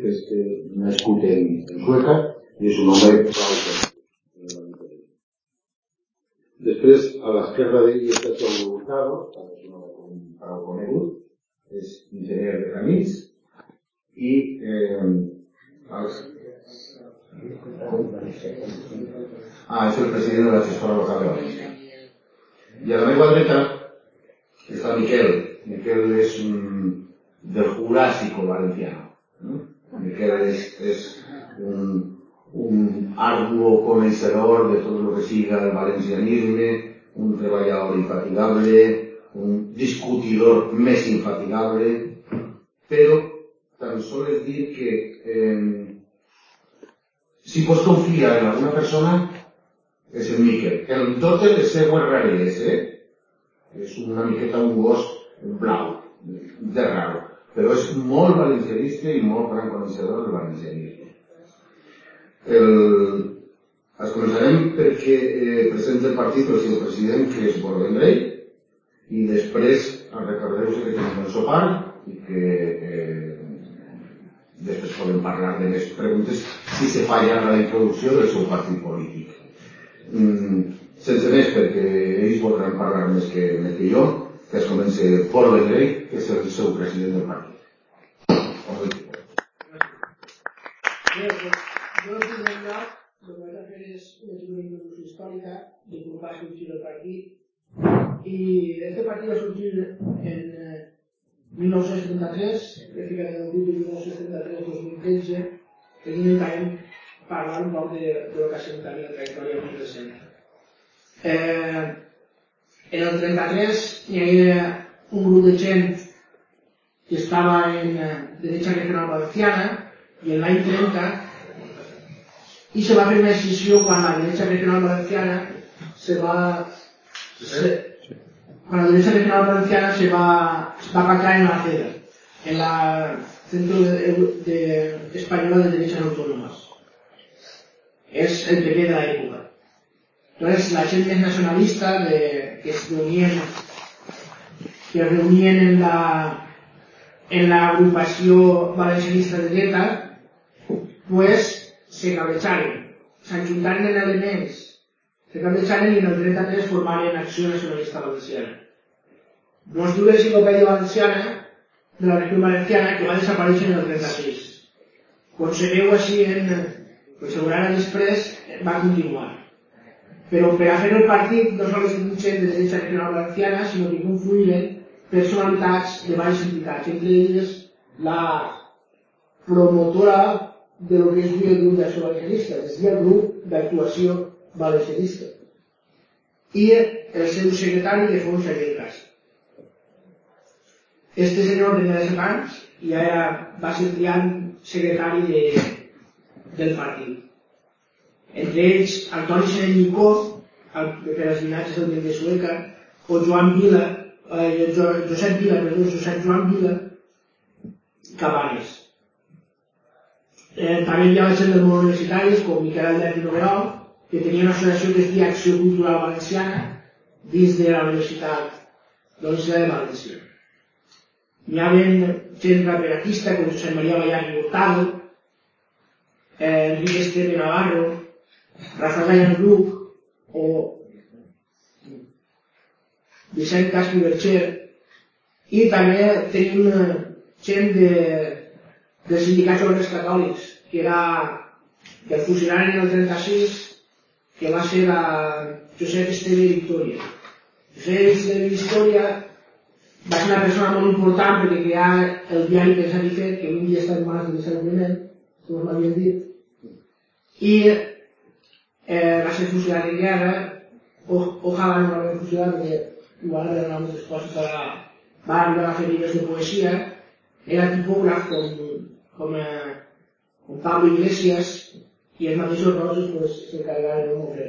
que és nascut en Sueca i és un home prou. Després, a l'esquerra d'ell està João Hurtado, també és un home prou conegut, és enginyer de camins i és el president de la gestora local de València. I a la meva dreta està Miquel. Miquel és del Jurásico valenciano. Miquel es un arduo conocedor de todo lo que siga el valencianisme, un treballador infatigable, un discutidor més infatigable, però tan sols dir que si pots confiar en alguna persona és el Miquel. En totes les seues rareses, és una miqueta un gos blau, de raro, però és molt valencianista i molt gran coneixedor del valencianisme. Es començarem perquè presenta el partit el seu president, que és Borja Vendrell, i després recordeu-vos que tenim el sopar i que després podem parlar de més preguntes si se fa ja la introducció del seu partit polític. Sense més, perquè ells voldran parlar més que jo, que es comença Borja Vendrell, que és el seu president del partit. Jo, en primer lloc, el que vaig a fer és una introducció històrica de com va sorgir el partit. I aquest partit va sorgir en 1973, pràcticament el 1973-2013, que aquí intentarem parlar un poc de lo que ha sigut també la trajectòria més recent. En el 33 hi havia un grup de gent que estava en derecha regional valenciana i en l'any 30 i se va fer una decisió quan la derecha regional valenciana se va pactar en la CEDA, en la Centro Española de Derechas Autónomas. Es el PP de la época. Entonces, la gente nacionalista que se reunien en la agrupació valencianista de dreta, pues se cabrejaren, s'enjuntaren en elements, se cabrejaren i en el 33 formaren Acció Nacionalista Valenciana. Nos diu l'enciclopèdia valenciana de la regió valenciana que va desaparèixer en el 36. Quan se veu així pues ara després va continuar. Però per a fer el partit no sols gent de derecha regional valenciana, sinó que confluïren personalitats de diverses entitats, entre elles la promotora de lo que es el grup d'acció valencianista, és a dir, el grup d'actuació valencianista. I el seu secretari de fons Xavier Cas. Este senyor tenia 17 anys i ara va ser triat secretari del partit. Entre ells, Antoni Senell Micó, que per als llinatges del de Sueca, o Josep Joan Vila Cabanes. També hi havia gent del món universitaris, com Miquel Albert i Noguerol, que tenia una associació que es deia Acció Cultural Valenciana dins de la Universitat de València. Hi havia gent raperatista com Josep Maria Ballar i Hurtado, Enrique Esteve Navarro, Rafael Gallan Bruc o Vicent Caspi Bercher, i també tenim gent dels sindicats obrers catòlics, que el fusionaren en el 36, que va ser Josep Esteve i Victòria. Josep Esteve i Victòria va ser una persona molt important perquè creà el diari Pensar i Fer, que avui dia està en mans de l'Isabel Climent, com m'havien dit, i va ser fusionat en guerra. Ojalà no l'havien fusionat perquè igual eren moltes coses, va arribar a fer llibres de poesia, era tipògraf com Pablo Iglesias i els mateixos Roses s'encarregaren de moure.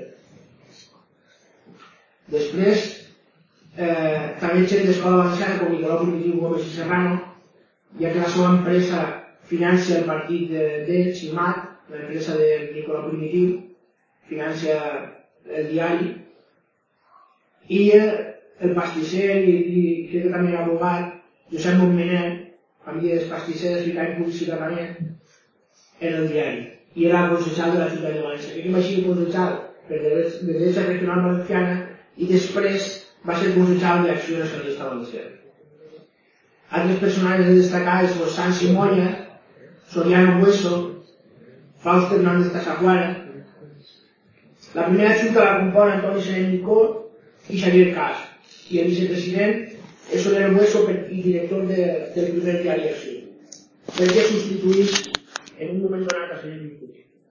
Després, també gent d'Escola Valenciana com Nicolau Primitiu Gómez i Serrano, ja que la seva empresa financia el partit d'ell, Ximat, l'empresa de Nicolau Primitiu, financia el diari, i el pastisser i crec que també l'abogat Josep Montmener, família dels pastissers i tant publicitat també, en el diari i era concejal de la ciutat de València. Aquest va ser concejal per la Derecha Regional Valenciana i després va ser concejal de l'Acció Nacionalista Valenciana. Altres personatges destacats són Sansi Moya, Soriano Bueso, Fausto Hernández Casaguara. La primera junta la compon Antoni Serén Micó i Xavier Cas, i el vicepresident és Soriano Bueso i director del primer diari Acció, perquè substituís en un moment donat a Serén Micó.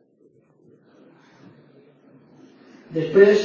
Després,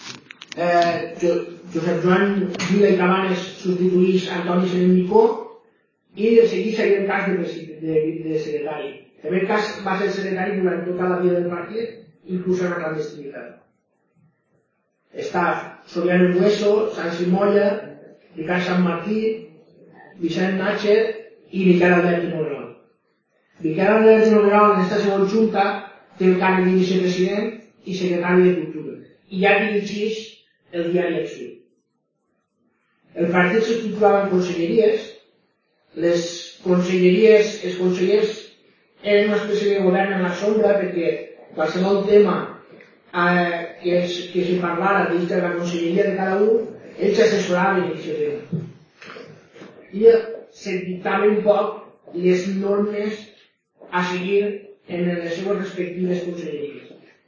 Josep Joan Vila i Cabanes substituís Antoni Serén Micó i de seguir Xavier Cas de secretari. Xavier Cas va ser secretari durant tota la vida del partit, inclús en la clandestinitat. Està Soriano Bueso, Sansi Moya, Ricard Sant Martí, Vicent Natcher i Miquel Albert i Noguerol. Miquel Albert i Noguerol en aquesta segona junta té el càrrec de vicepresident i secretari de Cultura i ja dirigeix el diari Acció. El partit s'estructurava en conselleries. Els consellers eren una espècie de govern en la sombra perquè qualsevol tema que se parlara dins de la conselleria de cada un, ells s'assessoraven en aquest tema. I se dictaven un poc les normes a seguir en les seves respectives conselleries.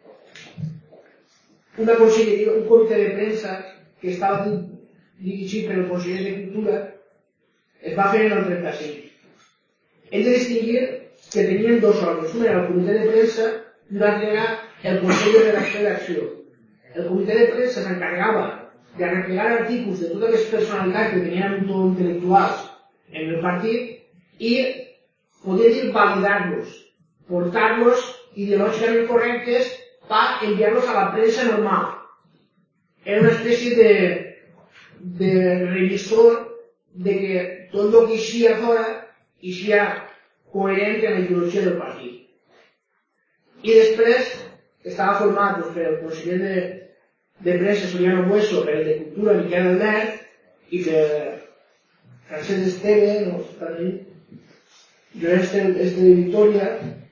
Una conselleria, un comitè de premsa que estava dirigit per el conseller de Cultura es va fer en el 35. Hem de distingir que tenien dos òrgans. Un era el comitè de premsa i un altre era el consell de redacció d'Acció. El comitè de premsa s'encarregava de arreplegar artículs de totes les personalitats que tenien un to intel·lectuals en el partit i poder dir validar-los, portar-los ideològicament correctes per enviar-los a la premsa normal. Era una espècie de revisor de que tot el que eixia fora eixia coherent amb la ideologia del partit. I després estava format per el conseller de premsa Soriano Bueso, per el de Cultura Miquel Albert i per Francesc Esteve, no està aquí, jo és de Victòria.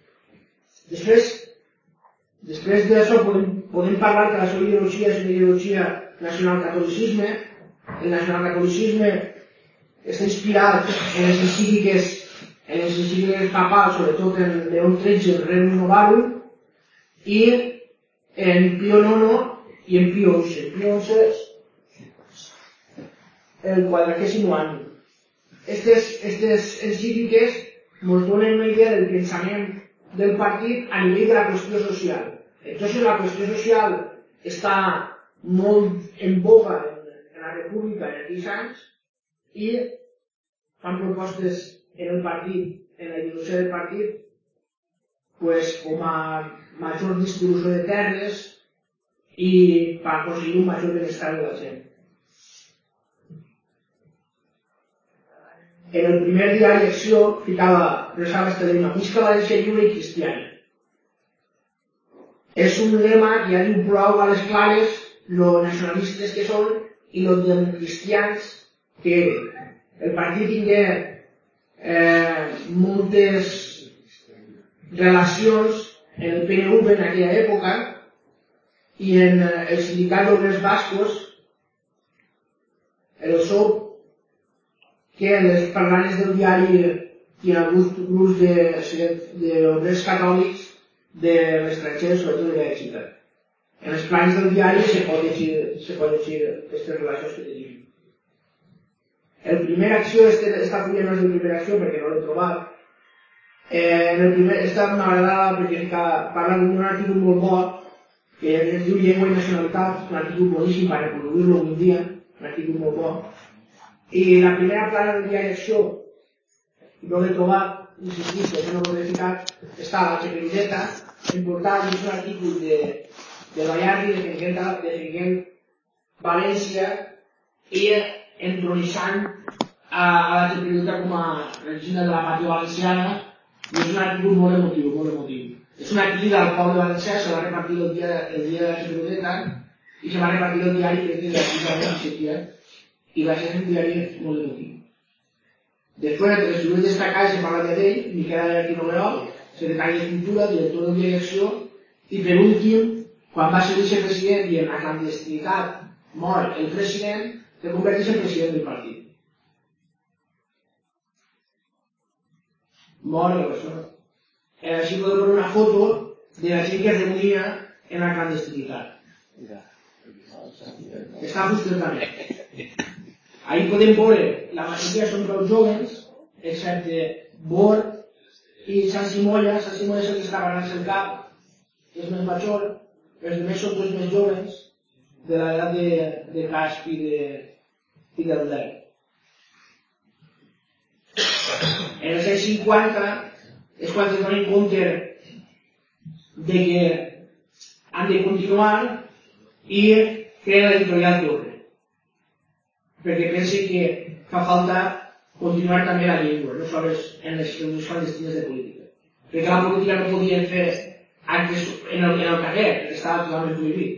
Després d'això podem parlar que la seva ideologia és una ideologia nacional-catolicisme. El nacional-catolicisme està inspirat en les encícliques papals, sobretot en León XIII, el Rerum Novarum, i en Pío IX i en Pío XI. Pío XI el 400 any. Aquestes encícliques ens donen una idea del pensament del partit a nivell de la qüestió social. Entonces la qüestió social està molt en boga en la República en aquells anys i fan propostes en el partit, en la ideologia del partit, pues, com a major distribució de terres i per aconseguir un major benestar de la gent. En el primer diari Acció resava este lema: Visca València lliure i cristiana. És un lema que ja diu prou a les clares los nacionalistes que són i los democristians que eren. El partit tingué moltes relacions en el PNV en aquella època i en el sindicat d'obrers bascos, el SOP, que les parlanes del diari i en alguns grups d'obrers catòlics de l'estranger, sobretot de Bèlgica. En els plans del diari se pot llegir aquestes relacions que tenim. El primer Acció, esta fulla no és de primera Acció perquè no l'he trobat. Esta m'agradava perquè parla d'un article molt bo que es diu Llengua i Nacionalitat, un article boníssim per reproduir-lo un dia, un article molt bo. I la primera plana del diari Acció, no l'he trobat, insistís, que no l'he ficat, està a la Xeperudeta, important, és un article de Bayardi defendent València i entronissant a la Xeperudeta com a regina de la pàtria valenciana, i és un article molt emotiu, molt emotiu. És una crida al poble valencià, se va repartir el dia de la Xeperudeta i se va repartir el diari que és de la crida de Valencia, i va ser un diari molt emotiu. Després, entre les figures destacades, se parla d'ell, Miquel Albert i Noguerol, secretari de Cultura, director de direcció, i per últim, quan va ser vicepresident i en la clandestinitat mor el president, se converteix en president del partit. Mor la persona. Així podem veure una foto de la gent que es reunia en la clandestinitat. Està frustrant també. Ahí podem veure, la majoria són prou joves, excepte Bor i Sant Simolla. Sant Simolla és el que està barant el cap, és més major, els altres són tots més joves, de l'edat de Casp i del Dec. En els anys 50 és quan es donen compte de que han de continuar i creen l'editorial Torre, perquè pensen que fa falta continuar també la llengua, no sols en les reunions clandestines de política, perquè la política no podien fer actes en el carrer, perquè estava totalment prohibit.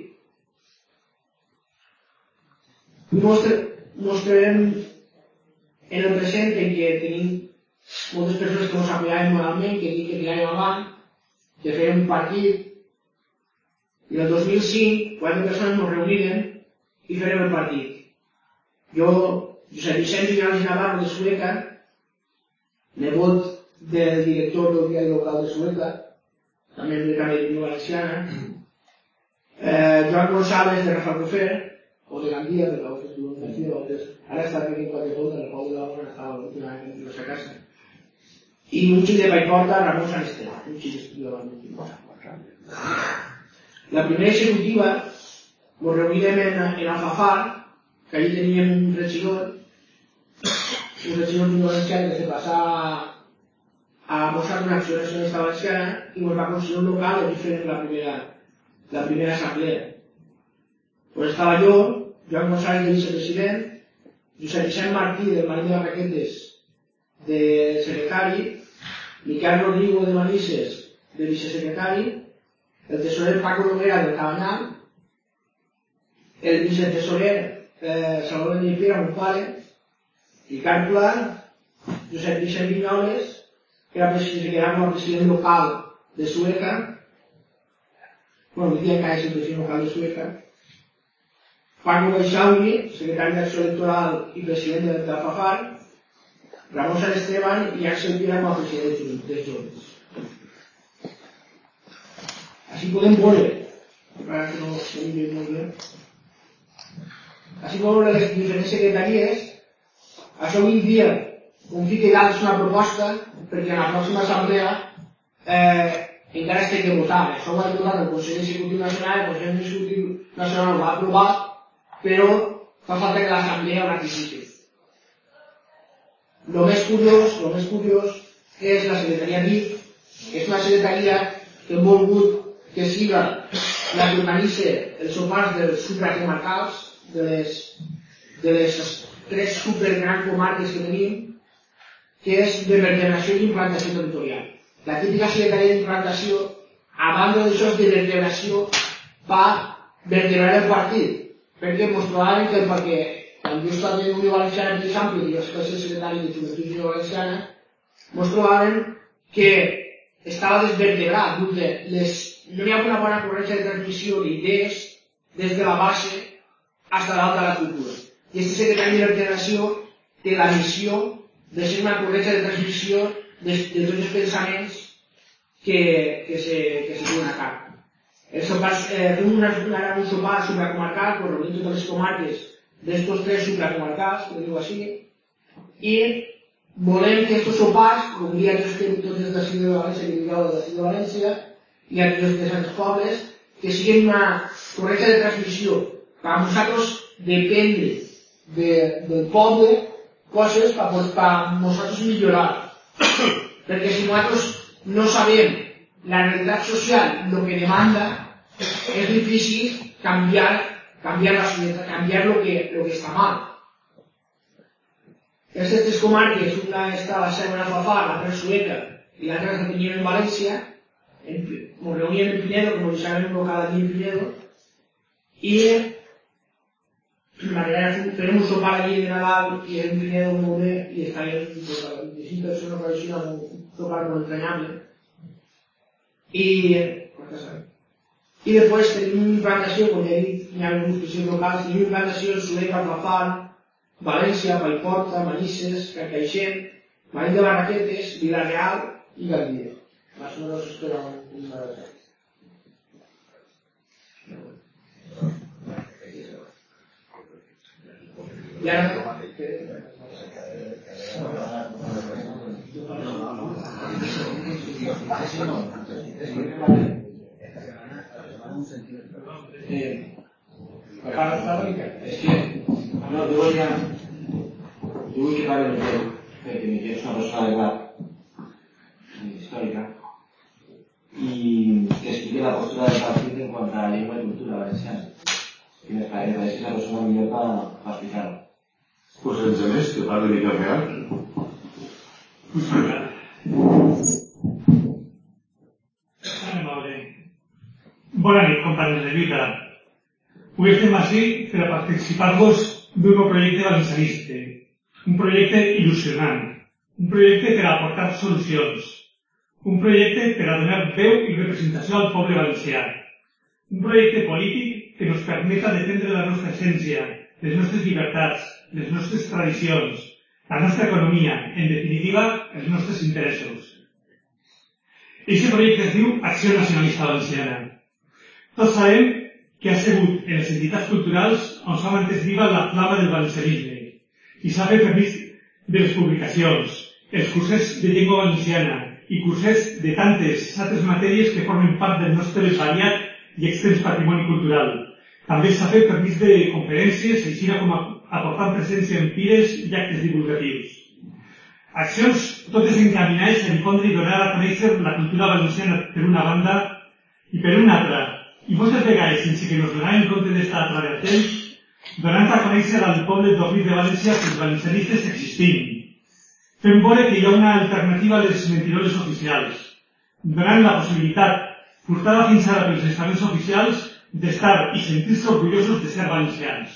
Mostrarem en el present en què tenim moltes persones que ens apoyaven moralment, que tiràvem avant, que fèiem un partit, i el 2005, 4 persones ens reunirem i farem el partit. Jo, Josep Vicent Vinyals i Navarro de Sueca, nebot del director del diari local de Sueca, també de Cameriño Valenciana, Joan González de Rafa Cofer, o de Gandia, de la Universitat de ara està aquí en Quatrefonda, en el Pau de la Bona, estava l'última vegada en la seva casa. I un xic de Paiporta, Ramon Sant Esteve, un xic d'estudiava en l'últim. La primera executiva ens reunirem en Alfafar, que allí teníem un regidor valencià que se passava a mostrar una acció nacionalista valenciana i ens va construir un local i fent la primera assemblea. Pues estava jo, Joan González de vicepresident, Josep Vicent Martí del Marín de Barraquetes de secretari, Miquel Rodrigo de Manises de vicesecretari, el tesorer Paco Noguera del Cabanyal, el vicetesorer Salvador de Nipiera, mon pare, Ricard Pla, Josep Vicent Vinyoles, que era com a president local de Sueca, bueno, avui dia encara és el president local de Sueca, Paco Baixauri, secretari d'Acció Electoral i president de l'Alfafar, Ramon Sant Esteban i Axel Piera com a president dels Joves. Així podem veure, encara que no ho veiem molt bé, així podem veure les diferents secretaries. Això avui dia, com fica i dalt, és una proposta, perquè en la pròxima assemblea encara es té que votar. Això ho ha votat el Consell Executiu Nacional, el Consell Executiu Nacional ho ha aprovat, però fa falta que l'assemblea ho ratifiqui. Lo més curiós és la secretaria DIF, que és una secretaria que hem volgut que siga la que organitza els sopars dels supracomarcals, de les 3 supergrans comarques que tenim, que és de vertebració i implantació territorial. La típica secretaria d'implantació, a banda d'això de vertebració, va vertebrar el partit, perquè ens trobaven que perquè quan jo estava en Unió Valenciana per exemple, i jo vaig ser secretari de Joventut Unió Valenciana, ens trobaven que estava desvertebrat, no hi havia una bona corrència de transmissió d'idees des de la base fins a l'alta de la cultura. I aquest secretari de vertebració té la missió de ser una corrència de transmissió de tots els pensaments que se duen a cap. Fem un sopar supracomarcal, que reunim totes les comarques d'estos 3 supracomarcals, que diu així, i volem que estos sopars, com dia tots els d'ací de València, que digueu d'ací de València, i a tots els altres pobles, que siguin una correcta de transmissió, per a nosaltres dependre del poble, coses per a nosaltres millorar. Perquè si nosaltres no sabem la realitat social, el que demanda, és difícil canviar la societat, canviar lo que està mal. Aquestes 3 comarques, una està a la Selva de Alfafar, l'altra en Sueca i l'altra la teníem en València, ens reuníem en Pinedo, com deixàvem un local allí en Pinedo, i farem un sopar allí de Nadal i en Pinedo molt bé, i estaven 25 persones per així amb un sopar molt entranyable. I després tenim una implantació, com ja he dit, hi ha algunes policies locals, tenim implantació en Soler, Catlafar, València, Vallporta, Manises, Carcaixent, Marín de Barraquetes, Vila-real i Gandia. Más o menos esto era una de las. Y ahora... Es que, no, yo voy a quitar el tema, que mi tío es una persona de edad histórica y que explique la postura del partido en cuanto a la lengua y cultura valenciana. Que me parece que es la persona millor para explicar-ho. Pues sense més, que parli de cafè alt. Bona nit, companys de lluita. Avui estem així per a participar-vos d'un nou projecte valencianista, un projecte il·lusionant, un projecte per a aportar solucions, un projecte per a donar veu i representació al poble valencià, un projecte polític que ens permeta defendre la nostra essència, les nostres llibertats, les nostres tradicions, la nostra economia, en definitiva, els nostres interessos. Aquest projecte es diu Acció Nacionalista Valenciana. Tots sabem que ha sigut en les entitats culturals on s'ha mantès viva la flama del valencianisme i s'ha fet permís de les publicacions, els cursets de llengua valenciana i cursets de tantes altres matèries que formen part del nostre variat i extens patrimoni cultural. També s'ha fet permís de conferències, així com aportant presència en fires i actes divulgatius. Accions totes encaminades a difondre i donar a conèixer la cultura valenciana per una banda i per una altra, i moltes vegades sense que ens donàvem compte d'esta altra vertent, donant a conèixer al poble d'Orrit de València que els valencianistes existim, fent veure que hi ha una alternativa a les mentiroles oficials, donant la possibilitat, portada fins ara pels estaments oficials, d'estar i sentir-se orgullosos de ser valencians.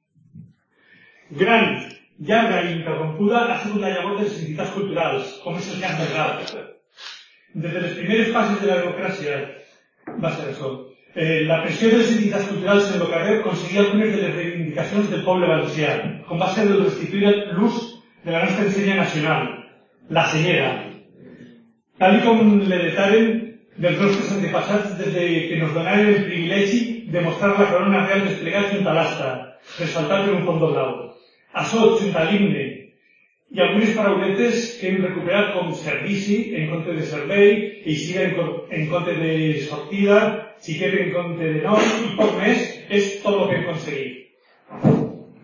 Gran, llarga i interrompuda ha sigut la llavor de les entitats culturals, com és el cas del GAP. Des de les primeres fases de la democràcia va ser això. La pressió de les entitats culturals en el carrer aconseguia algunes de les reivindicacions del poble valencià, com va ser el restituir l'ús de la nostra ensenya nacional, la senyera, tal com l'heretaren dels nostres antepassats des que ens donaren el privilegi de mostrar la corona real desplegada junt a l'asta, ressaltat per un fondo blau. Això, junt a l'himne, i algunes parauletes que hem recuperat com servici en compte de servei, eixida en compte de sortida, xiquet en compte de nom i poc més, és tot el que hem aconseguit.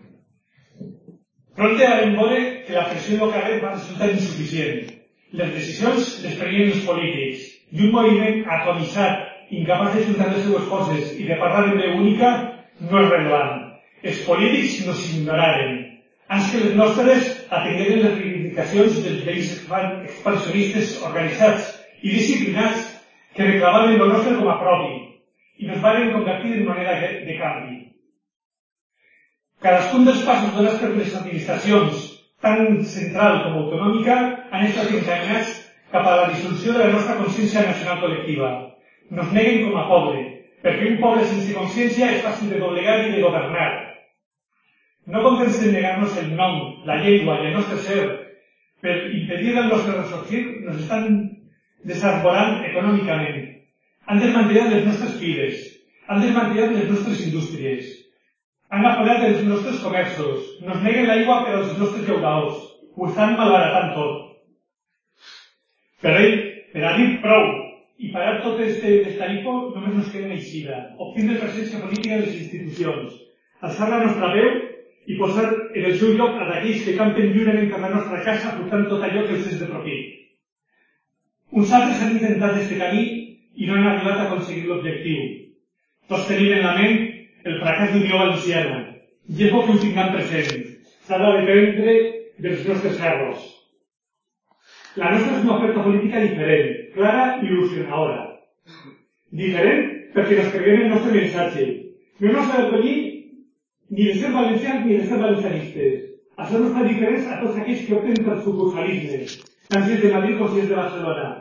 Pronte vam veure que la pressió del carrer va resultar insuficient. Les decisions les prenien els polítics i un moviment atomissat, incapaç de juntar les seues forces i de parlar en veu única, no és rellevant. Els polítics no s'ignoraren. Ans que les nostres atengueren les reivindicacions dels veïns expansionistes organitzats i disciplinats que reclamaven el nostre com a propi i ens van convertir en moneda de canvi. Cadascun dels passos donats per les administracions, tant central com autonòmica, han estat encaminats cap a la dissolució de la nostra consciència nacional col·lectiva. Nos neguen com a poble, perquè un poble sense consciència és fàcil de doblegar i de governar. No contents de negar-nos el nom, la llengua i el nostre ser per impedir el nostre ressorgir, nos estan desarborant econòmicament. Han desmantellat les nostres files, han desmantellat les nostres indústries, han aforat els nostres comerços, nos neguen l'aigua per als nostres llauradors, ho estan malbaratant tot. Per a dir prou i parar tot este destarifo, només nos queda una eixida, obtindre presència política de les institucions, alçar la nostra veu i posar en el seu lloc a d'aquells que campen lliurement per la nostra casa portant tot allò que els és de profit. Uns altres han intentat este camí i no han arribat a aconseguir l'objectiu. Tots tenim en la ment el fracàs d'Unió Valenciana i és bo que ho tinguem present. S'ha d'aprendre dels nostres errors. La nostra és una oferta política diferent, clara i il·lusionadora. Diferent perquè ens creiem el nostre missatge. No ens ha d'acollir ni de ser valencians ni de ser valencianistes. Això nos fa diferents a tots aquells que opten per sucursalisme, tant si és de Madrid com si és de Barcelona.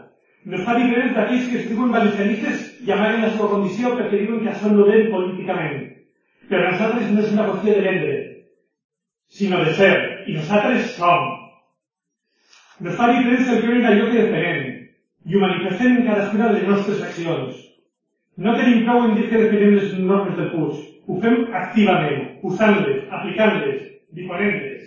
No es fa diferent d'aquells que es diuen valencianistes i amaguen la seva condició perquè diuen que això no ven políticament. Però a nosaltres no és una qüestió de vendre, sinó de ser, i nosaltres som. No es fa diferència el creure en allò que defenem, i ho manifestem en cadascuna de les nostres accions. No tenim prou en dir que defenem les normes del Puig. Ho fem activament, usant-les, aplicant-les, difonent-les.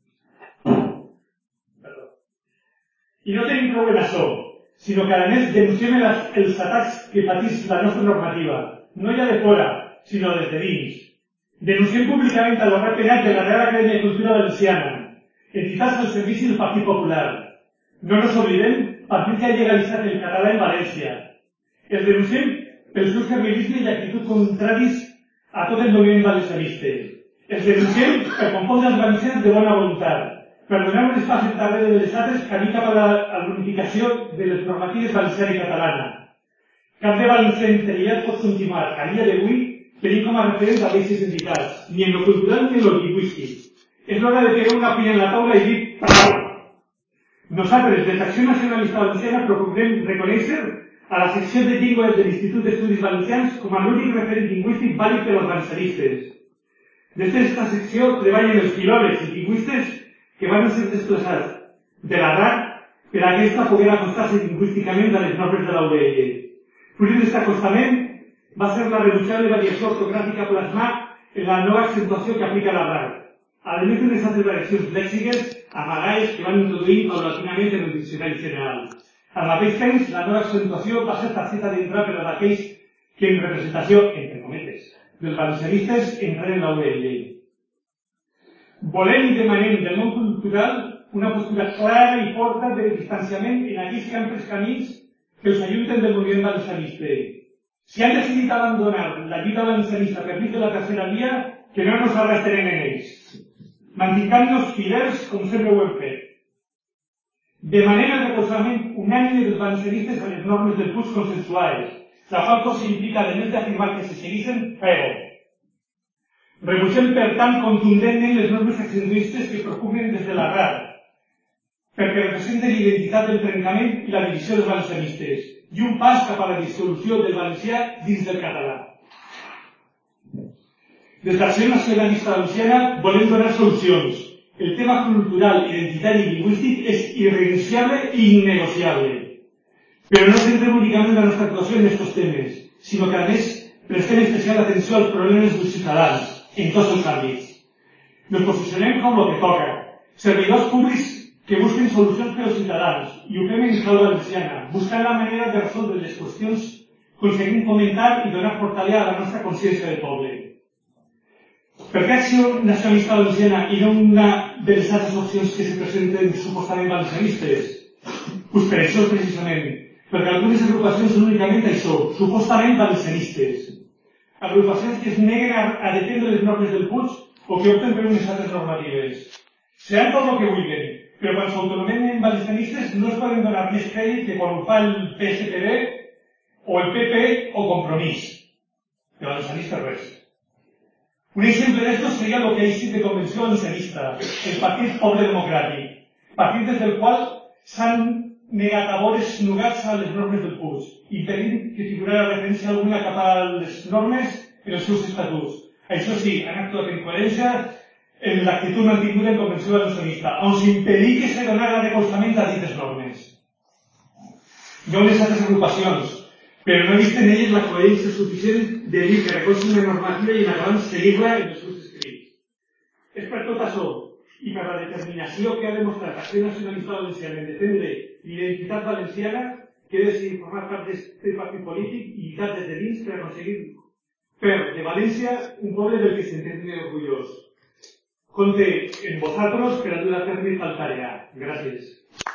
I no tenim prou en això, sinó que a més denunciem els atacs que patís la nostra normativa, no ja de fora, sinó des de dins. Denunciem públicament a l'Obra Penal de la Real Acadèmia de Cultura Valenciana, entitats al servici del Partit Popular. No nos oblidem, partit que ha legalitzat el català en València. Els denunciem pel seu servilisme i actitud contraris a tot el moviment valencianista. Els denunciem per confondre els valencians de bona voluntat, per donar un espaç darrere de les altres camí cap a la unificació de les normatives valenciana i catalana. Cap de valencià interior pot continuar, a dia d'avui, tenint com a referent a aquestes entitats, ni en lo cultural ni en lo lingüístic. És l'hora de pegar una pinya en la taula i dir prou. Nosaltres, des d'Acció Nacionalista Valenciana, procurem reconèixer a la secció de llengua de l'Institut d'Estudis Valencians com a l'únic referent lingüístic vàlid per als valencianistes. Des d'esta secció treballen els filòlegs i lingüistes que van ser desplaçats de la RAC per a aquesta poder acostar-se lingüísticament a les normes de la UDL. Fruit d'aquest acostament va ser la renunciable variació ortogràfica plasmada en la nova accentuació que aplica la RAC, a més d'unes altres variacions lèxiques amagades que van introduir paulatinament en el diccionari general. Al mateix temps, la nova accentuació va ser targeta d'entrar per a aquells que en representació, entre cometes, dels valencianistes entren en la UDL. Volem i demanem del món cultural una postura clara i forta de distanciament en aquells que amples camins que els ajunten del moviment valencianista. Si han decidit abandonar la lluita valencianista per mig de la tercera via, que no nos arrastren en ells. Mantinguem-nos fidels com sempre ho hem fet. Demanem el recolzament unànime dels valencianistes a les normes del Puig consensuades, la qual cosa implica, a més d'afirmar que se segueixen, fer-ho. Rebutgem, per tant, contundentment les normes accentuistes que preocupen des de la RAC, perquè representen l'identitat del trencament i la divisió dels valencianistes, i un pas cap a la dissolució del valencià dins del català. Des d'Acció Nacionalista Valenciana volem donar solucions. El tema cultural, identitari i lingüístic és irrenunciable i innegociable. Però no centrem únicament la nostra actuació en aquests temes, sinó que, a més, prestem especial atenció als problemes dels ciutadans, en tots els àmbits. Nos posicionem com el que toca, servidors públics que busquen solucions per als ciutadans, i ho fem en clau valenciana, buscant la manera de resoldre les qüestions, aconseguint fomentar i donar fortalesa a la nostra consciència de poble. Per què Acció Nacionalista Valenciana i no una de les altres opcions que se presenten supostament valencianistes? Doncs per això, precisament, perquè algunes agrupacions són únicament això, supostament valencianistes. Agrupacions que es neguen a defendre les normes del Puig o que opten per unes altres normatives. Seran tot el que vulguin, però quan s'autonomenen valencianistes no es poden donar més crèdit que quan ho fa el PSPB o el PP o Compromís. De valencianistes res. Un exemple d'esto seria el que ha existit de Convenció Valencianista, el Partit Poble Democràtic, partit des del qual s'han negat a vores nugats a les normes del Puig, impedint que figurara referència alguna cap a les normes en els seus estatuts. Això sí, han actuat en coherència en l'actitud mantinguda en Convenció Valencianista, on s'impedir que se donara recolzament a dites normes. Hi ha unes altres agrupacions, però no he vist en elles la coherència suficient de dir que recolzen una normativa i en acabant seguir-la en els seus escrits. És per tot això, i per la determinació que ha demostrat Acció Nacionalista Valenciana en defendre l'identitat valenciana, que he decidit formar part d'aquest partit polític i lluitar des de dins per aconseguir fer de València un poble del que s'entén orgullós. Compte en vosaltres per a dur a terme tal tarea. Gràcies.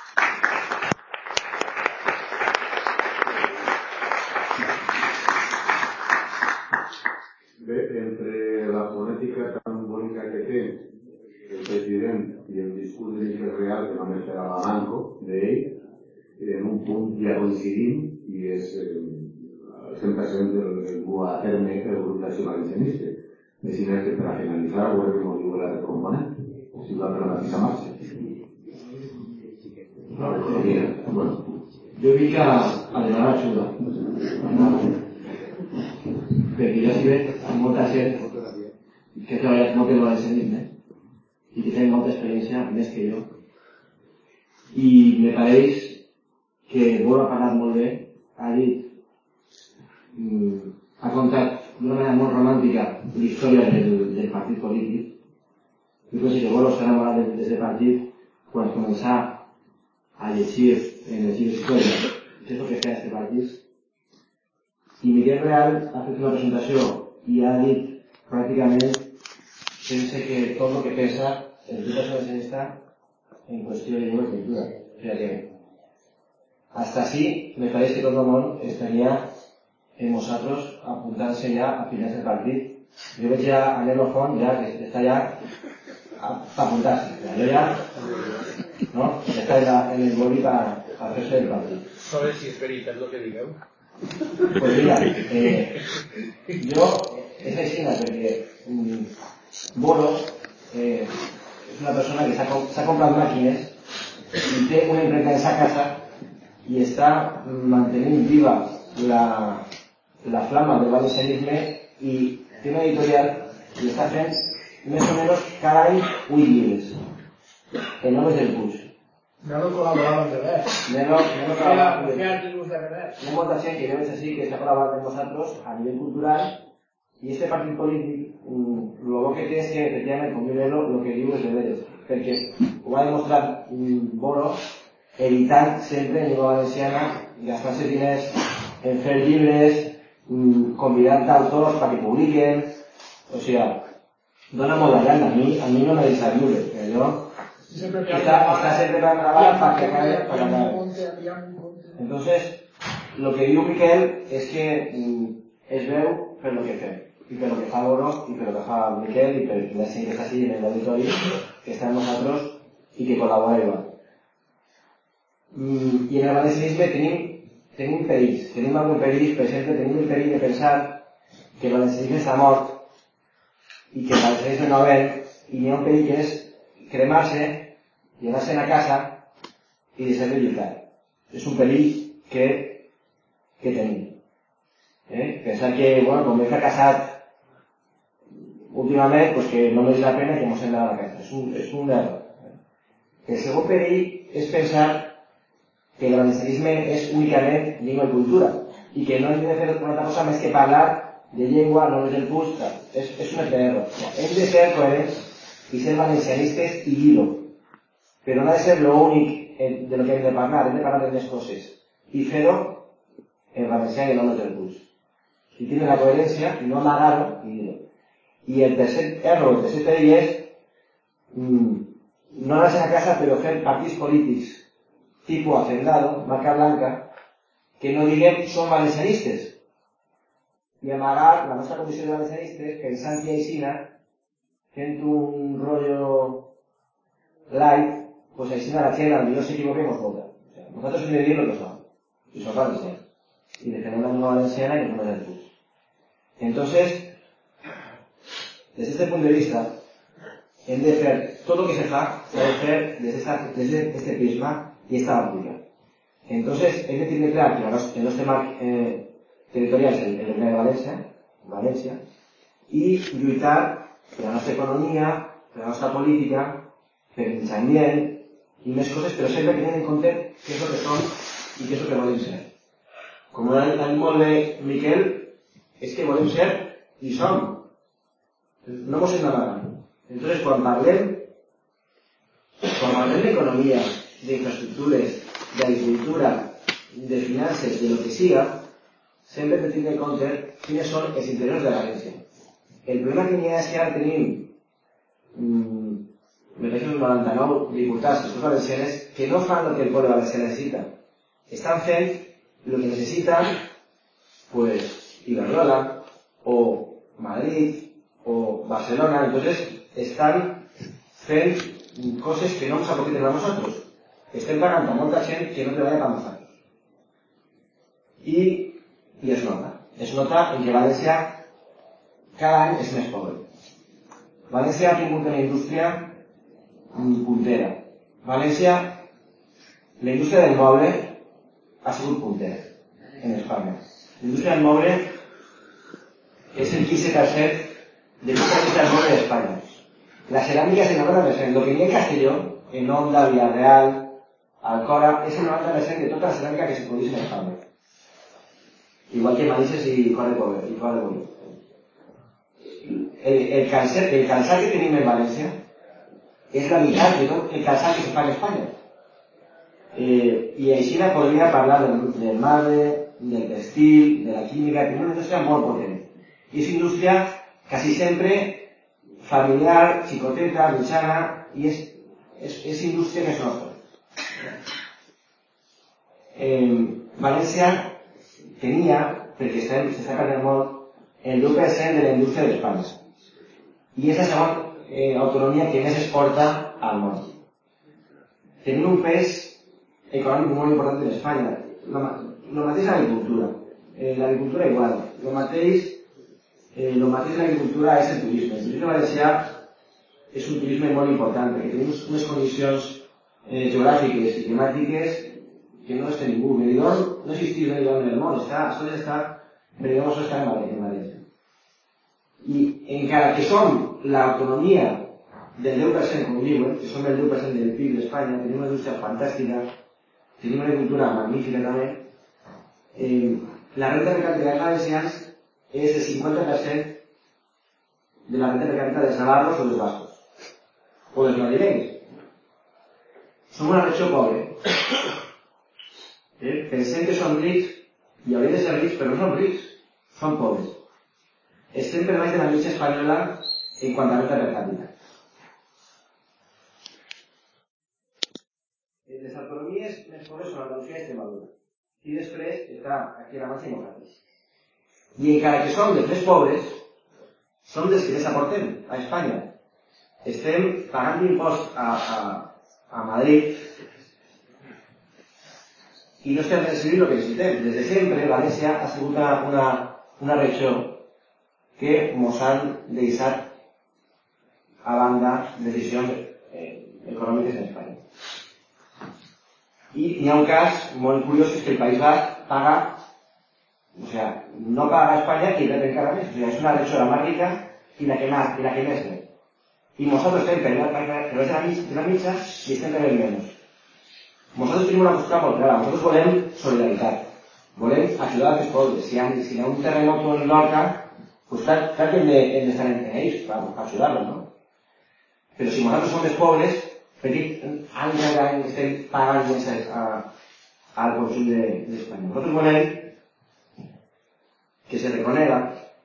Bé, entre la fonètica tan bonica que té el president i el discurs de l'infern real que només serà la manco d'ell, en un punt ja coincidim i és el 100% del dur a terme el grup d'Acció Valencianista. Decim que per a finalitzar veure com ho diu l'altre component, si va per la mateixa marxa. Bueno, Jo vinc a demanar ajuda. Perquè jo s'hi veig amb molta gent que ha treballat molt en valencianisme i que té molta experiència, més que jo. I me pareix que Boro ha parlat molt bé, ha dit, ha contat d'una manera molt romàntica la història del partit polític. Jo penso que Boro s'ha enamorat d'aquest partit quan començà a llegir en els llibres d'història què és el que feia aquest partit. I Miguel Real ha fet una presentació i ha dit pràcticament que tot el que pensa el grup valencianista en qüestió de llengua i cultura. O sea que hasta así me parece que todo el mundo estaría en nosotros apuntándose ya a finales del partido. Yo veo ya a Nelo Font ya que está ya para apuntarse. Yo ya, ¿no? Está en el boli para hacerse del partido. ¿Sabes si es veritat lo que digueu? Pues mira, yo, es aixina porque Boro es una persona que se ha comprado máquinas y tiene una imprenta en esa casa y está manteniendo viva la flama del valencianisme y tiene una editorial y está haciendo más o menos cada año 8 llibres en nombres del Puig. Nelo col·laborava amb Revers. Nelo col·laborava amb artículos de Revers. Hi ha molta gent que jo veig així que s'ha col·laborat amb nosaltres a nivell cultural i este partit polític el bo que té és que efectivament com Nelo el que diu és de veres perquè ho va demostrar Boro evitant sempre en llengua valenciana gastar-se diners en fer llibres convidant autors perquè publiquen o sigui dona molt de llana a mi no me deixa viure jo está siempre para grabar para que acabe. Entonces, lo que diu Miquel es que es veu per lo que fem, i per lo que fa Boro, i per lo que fa Miquel, i per la gent que està així en l'auditori, que està amb nosaltres i que col·labora igual. I en el valencianisme tenim perills, tenim algun perill, per exemple, tenim el perill de pensar que el valencianisme està mort i que el valencianisme no ven, i hi ha un perill que és cremar-se, llevar-se'n a casa i deixar de lluitar. És un perill que tenim. Pensar que, bueno, com he fracassat últimament, pues que no mereix la pena que mos hem d'anar a la casa. És un error. El segon perill és pensar que el valencianisme és únicament llengua i cultura i que no hem de fer una altra cosa més que parlar de llengua, no és del Puig. És un error. Hem de ser coherents i ser valencianistes i dir-ho. Però no ha de ser lo únic de lo que hem de parlar de més coses. I fer-ho en valencià i no en el Puig. I tindre la coherència i no amagar-ho i dir-ho. I el tercer error, el tercer perill és no anar-se a casa però fer partits polítics tipus Hacendado, marca blanca, que no diguem som valencianistes i amagar la nostra condició de valencianistes pensant que aixina fent un rollo light, pues aixina la gent, potser s'equivoquem o vota. O sea, nosaltres hem de dir lo que som, i som valencians. Y defender la lengua valenciana y no del Puig. Entonces, desde este punto de vista, hem de fer tot el que se fa, s'ha de fer desde este prisma y esta óptica. Entonces, hem de tenir clar que el nostre marc territorial és el Regne de València, i lluitar per la nostra economia, per la nostra política, per el mig ambient i més coses, però sempre tenint en compte què és el que som i què és el que volem ser. Com ha dit molt bé Miquel, és que volem ser i som. No mos hem d'amagar. Entonces, quan parlem d'economia, d'infraestructures, d'agricultura, de finances, de lo que siga, sempre hem de tenir en compte quines són els interessos de València. El problema que n'hi ha és que ara tenim me parece uns 99 diputats, els valencianes, que no fan el que el poble valencià necessita. Estan fent lo que necesitan, pues, Iberdrola, o Madrid, o Barcelona. Entonces, están fent coses que no ens aprofiten a nosotros. Estem pagant a molta gent que no treballa per nosaltres. I es nota. Es nota en que València cada any és més pobre. València ha tingut una indústria puntera. València, la indústria del moble, ha sigut punter en Espanya. La indústria del moble és el 15% de tota la indústria del moble d'Espanya. La ceràmica és el 90%. Lo que n'hi ha en Castelló, en Onda, Villarreal, Alcora, és el 90% de tota la ceràmica que se produeix en Espanya. Igual que Manises i Coll. El calçat que tenim en València és la meitat de tot el calçat que se fa en Espanya. I així podria parlar del marbre, del textil, de la química, que és una indústria molt potent. I és indústria quasi sempre familiar, xicoteta, mitjana, i és indústria que és nostra. València tenia, perquè s'està perdent molt, el 10% de la indústria d'Espanya. I és la segona autonomia que més exporta al món. Tenim un pes econòmic molt important en Espanya. Lo mateix l'agricultura. L'agricultura igual. Lo mateix l'agricultura és el turisme. El turisme valencià és un turisme molt important perquè tenim unes condicions geogràfiques i climàtiques que no les té ningú. Benidorm no existeix Benidorm en el món. Benidorm sols està en València. I encara que som l'autonomia del 10%, com diuen, que som el 10% del PIB d'Espanya, tenim una indústria fantàstica, tenim una agricultura magnífica també, la renta per capita dels valencians és el 50% de la renta per capita dels navarros o dels bascos, o dels madrilenys. Som una regió pobre. Pensem que som rics, i hauríem de ser rics, però no som rics, som pobres. Estem per baix de la mitja espanyola en quant a renta per capita. Les autonomies més pobres són Andalusia i Extremadura. I després està aquí a la Manxa i nosaltres. I encara que som dels més pobres, som dels que més aportem a Espanya. Estem pagant impost a Madrid i no estem recibint el que necessitem. Des de sempre, València ha sigut una regió que ens han deixat a banda decisions econòmiques en Espanya. I hi ha un cas molt curiós, és que el País Basc paga, no paga a Espanya i rep encara més. És una regió la més rica i la que més rep. I nosaltres estem per baix de la mitja i estem rebent menys. Nosaltres tenim una postura molt clara. Nosaltres volem solidaritat. Volem ajudar als pobres. Si hi ha un terremoto en Lorca, pues clar que hem d'estar en ells per ajudar-los, no? Però si nosaltres som els pobres, any rere any estem pagant més al conjunt d'Espanya. Nosaltres volem que se reconega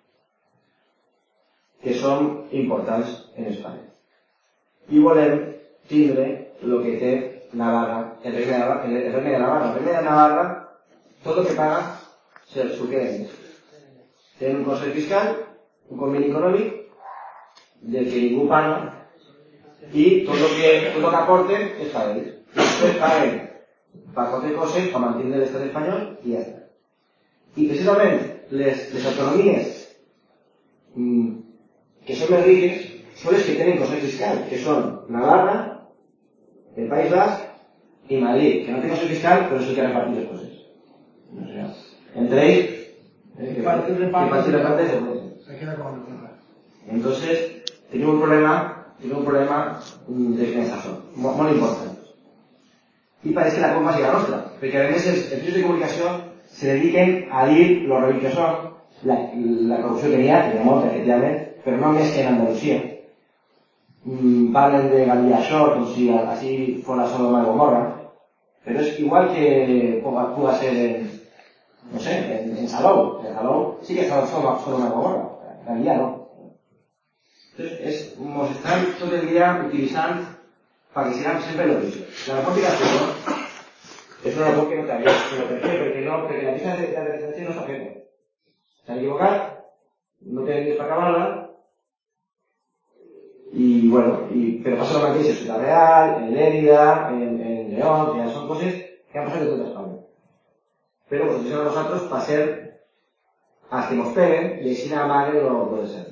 que som importants en Espanya. I volem tindre el que té Navarra, el regne de Navarra. El regne de Navarra, tot el que paga, s'ho queda ells. Tenen un consell fiscal, un conveni econòmic, del que ningú paga, i tot el que aporten és per ells. I després paguen per qualsevol cosa, per mantenir l'estat espanyol, i ja està. I precisament les autonomies que són més riques són les que tenen consell fiscal, que són Navarra, el País Basc i Madrid, que no té consell fiscal, però sí que repartir les coses. Entre ells, que fácil reparte se queda con el. Entonces tenemos un problema de financiación muy importante y parece la cosa siga nostra porque a veces els medios de comunicación se dediquen a dir lo horrible que son la corrupció que hi ha molta efectivament, però no més que en Andalusia. Parlen de Galilea Shore com si així fos Sodoma i Gomorra, però és igual que puga ser en Salou. En Salou sí que és Sodoma i Gomorra, Galilea no. Entonces, nos están todo el día utilizando para que sigan siempre lo mismo. La narcótica es una labor que no te había, pero ¿por qué? Porque la lista de representación no es objeto. Se han equivocado, no tienen que para acabarla, y bueno, pero pasa lo que en Ciudad Real, en Lérida, en León, que ya son cosas que han pasado de toda España. Pero nos utilizan a nosotros para ser hasta que nos peguen y así nada más lo puede ser.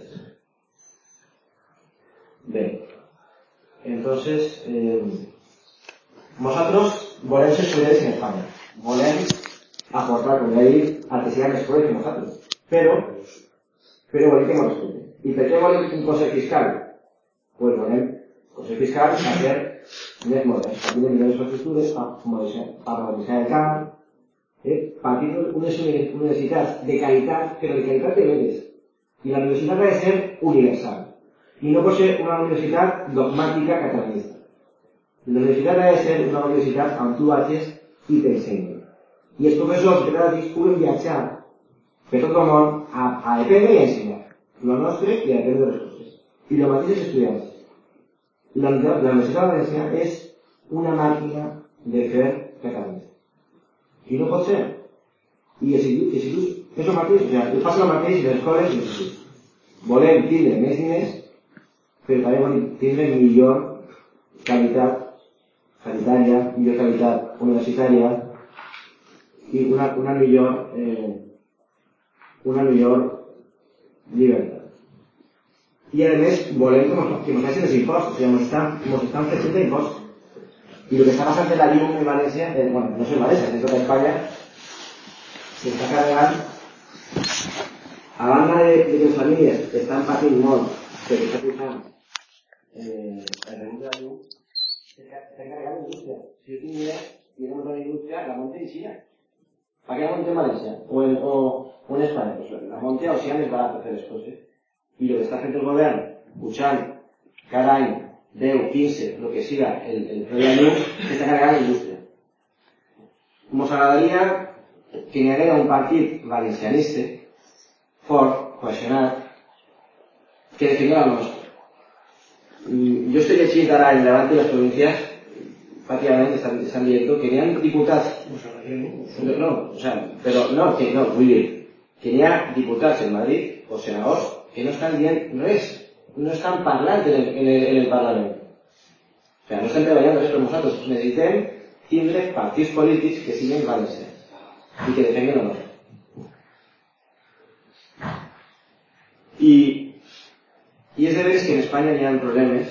Bien, entonces, nosotros volem ser solidarios en España. Volem aportar, com ja he dit, al que siga més poder que nosaltres. Però volem que ens respecte. I per què volem un Consell Fiscal? Pues volem Consell Fiscal a ser més modern, a tenir millors infraestructures, a modernitzar el camp, per tenir unes universitats de qualitat, però de qualitat de veres. I la universitat ha de ser universal. I no pot ser una universitat dogmàtica catalanista. La universitat ha de ser una universitat amb tu vagis i t'ensenyi. I els professors que catedràtics puguen viatjar per tot el món a aprendre i a ensenyar. Lo nostre i a aprendre les coses. I el mateix els estudiants. La Universitat Valenciana és una màquina de fer catalanista. I no pot ser. I els instituts és el mateix. O sigui, passa el mateix en les escoles i els instituts. Volem tindre més diners, però també volem tindre millor qualitat sanitària, millor qualitat universitària i una millor llibertat. I a més volem que ens facin els impostos, o sigui, ens estan fent d'impostos. I el que està passant en la llum en València, bueno, no és en València, en tota Espanya, s'està carregant, a banda de que les famílies estan patint molt perquè està pujant el rebut de la llum, s'està carregant l'indústria. Si jo tinc idea, i anem a la indústria, la monte en Xina. ¿Para qué la monte en Valencia? O en España? Pues la monte a Ocean es barato hacer las cosas. Y lo que está haciendo el gobierno, escuchando cada año, 10, 15, lo que siga, el precio de luz, está cargando la industria. Nos agradaría que n'hi haguera un partit valencianista fort, cohesionat, que defendiera el nostre. Jo estic llegint ara en Levante i les províncies, prácticamente están diciendo que n'hi ha diputats, vull dir, que n'hi ha diputats en Madrid o senadors que no estan dient res, no estan parlant en el Parlament. O sigui, no estan treballant res per nosaltres. Necessitem tindre partits polítics que siguin valencians i que defenguen el nostre. I és de veres que en Espanya hi ha problemes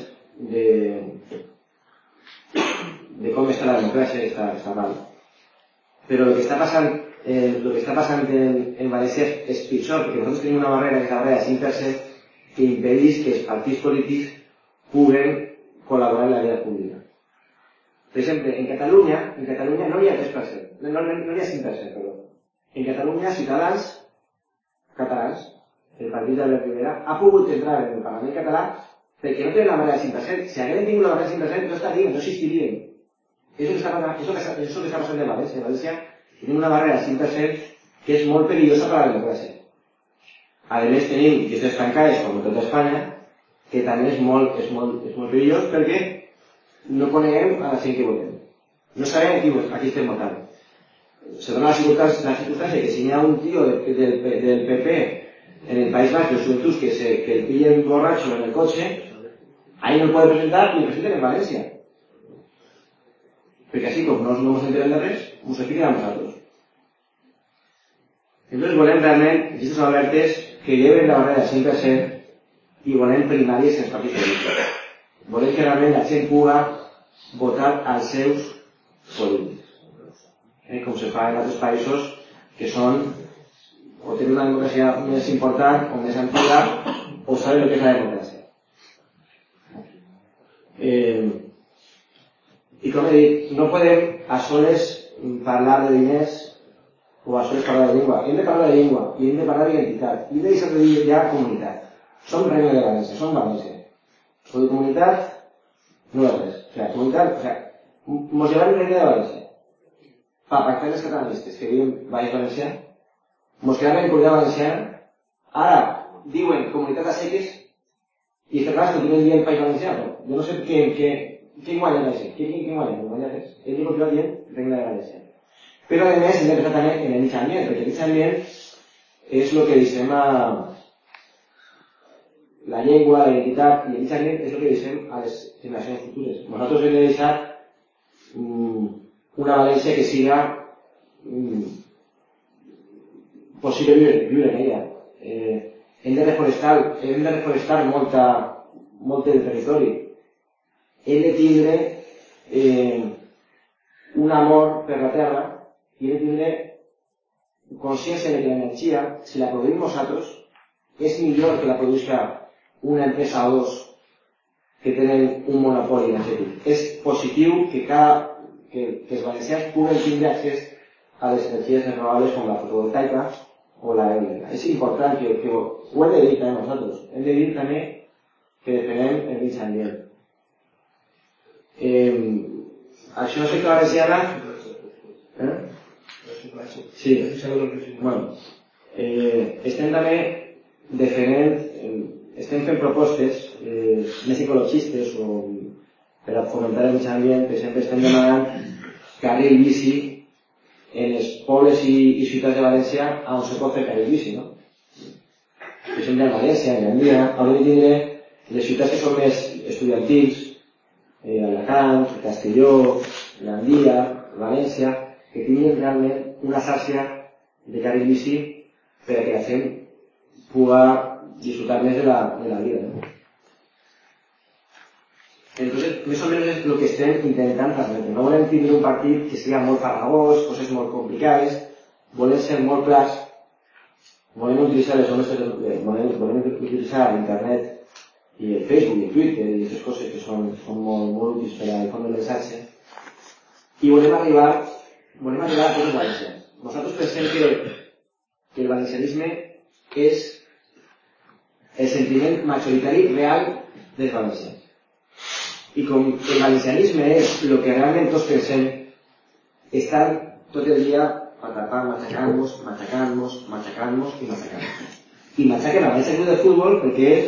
de com està la democràcia, està mal. Però el que està passant en València és pitjor, perquè nosaltres tenim una barrera, que és la barrera de 5%, que impedeix que els partits polítics puguen col·laborar en la vida pública. Per exemple, en Catalunya no hi ha 3%, no hi ha 5%, perdó. En Catalunya, Ciutadans catalans, el partit d'Albert Rivera, ha pogut entrar en el Parlament català perquè no tenen la barrera del 5%. Si hagueren tingut la barrera del 5%, no estarien, no existirien. És el que està passant en València. En València tenim una barrera del 5% que és molt perillosa per a la democràcia. A més tenim llistes tancades, com a tota Espanya, que també és molt perillós perquè no coneguem a la gent que votem. No sabem a qui estem votant. Se dona la circumstància que si hi ha un tio del PP en el País Basc, los juventuds, que el pillen borracho en el coche, ahí no el puede presentar ni presenten en València. Perquè així, com no ens enterem de res, ens expliquen a nosaltres. Entonces volem realment llistes obertes que lleven la barrera del 5% i volem primàries en els partits polítics. Volem que realment la gent pugui votar als seus polítics. Com se fa en altres països que són o tenen una democràcia més important o més antiga o saben el que és la democràcia. I com he dit, no podem a soles parlar de diners o a soles parlar de llengua. Hem de parlar de llengua i hem de parlar d'identitat. I hem de deixar de dir ja comunitat. Som Regne de València, som València. O de comunitat no és res. O sigui, comunitat, mos llevem Regne de València. Per pactar les catalanistes que diuen Baix Valencià, mos quedem en Comunitat Valenciana, ara diuen comunitat a seques i este cas continuen dient País Valencià. Jo no sé què guanya d'així, què guanya, no guanya res. Hem de continuar dient Regne de València. Però a més hem de pensar també en el mig ambient, perquè el mig ambient és el que deixem a la llengua, la identitat, i el mig ambient és el que deixem a les generacions futures. Nosaltres hem de deixar una València que siga possible viure en ella. Hem de reforestar molt del territori. Hem de tindre un amor per la terra i hem de tindre consciència de que l'energia, si la produïm nosaltres, és millor que la produïsca una empresa o dos que tenen un monopoli energètic. És positiu que els valencians puguen tindre accés a les energies renovables com la fotovoltaica o la eòlica. És important que ho hem de dir també nosaltres. Hem de dir també que defendem el mig ambient. Això afecta a valenciana... Sí, bueno, estem també defendent, estem fent propostes més ecologistes o per a fomentar el mig ambient. Per exemple, estem demanant carril bici en els pobles i ciutats de València on se pot fer carril bici, no? Per exemple, a València, a Gandia, hauríem de tindre les ciutats que són més estudiantils, Alacant, Castelló, Gandia, València, que tinguin realment una xarxa de carril bici per a que la gent pugui disfrutar més de la vida, ¿no? Entonces, més o menys és el que estem intentant transmetre. No volem tindre un partit que sigui molt farragós, coses molt complicades, volem ser molt clars, volem utilitzar volem utilitzar internet i el Facebook i el Twitter i aquestes coses que són molt útils per a difondre el missatge, i volem arribar a tots els valencians. Nosaltres pensem que el valencianisme és el sentiment majoritari real dels valencians. I com el valencianisme és el que realment tots pensem, estan tot el dia matacant-nos. I mataquen a València Club de Futbol perquè és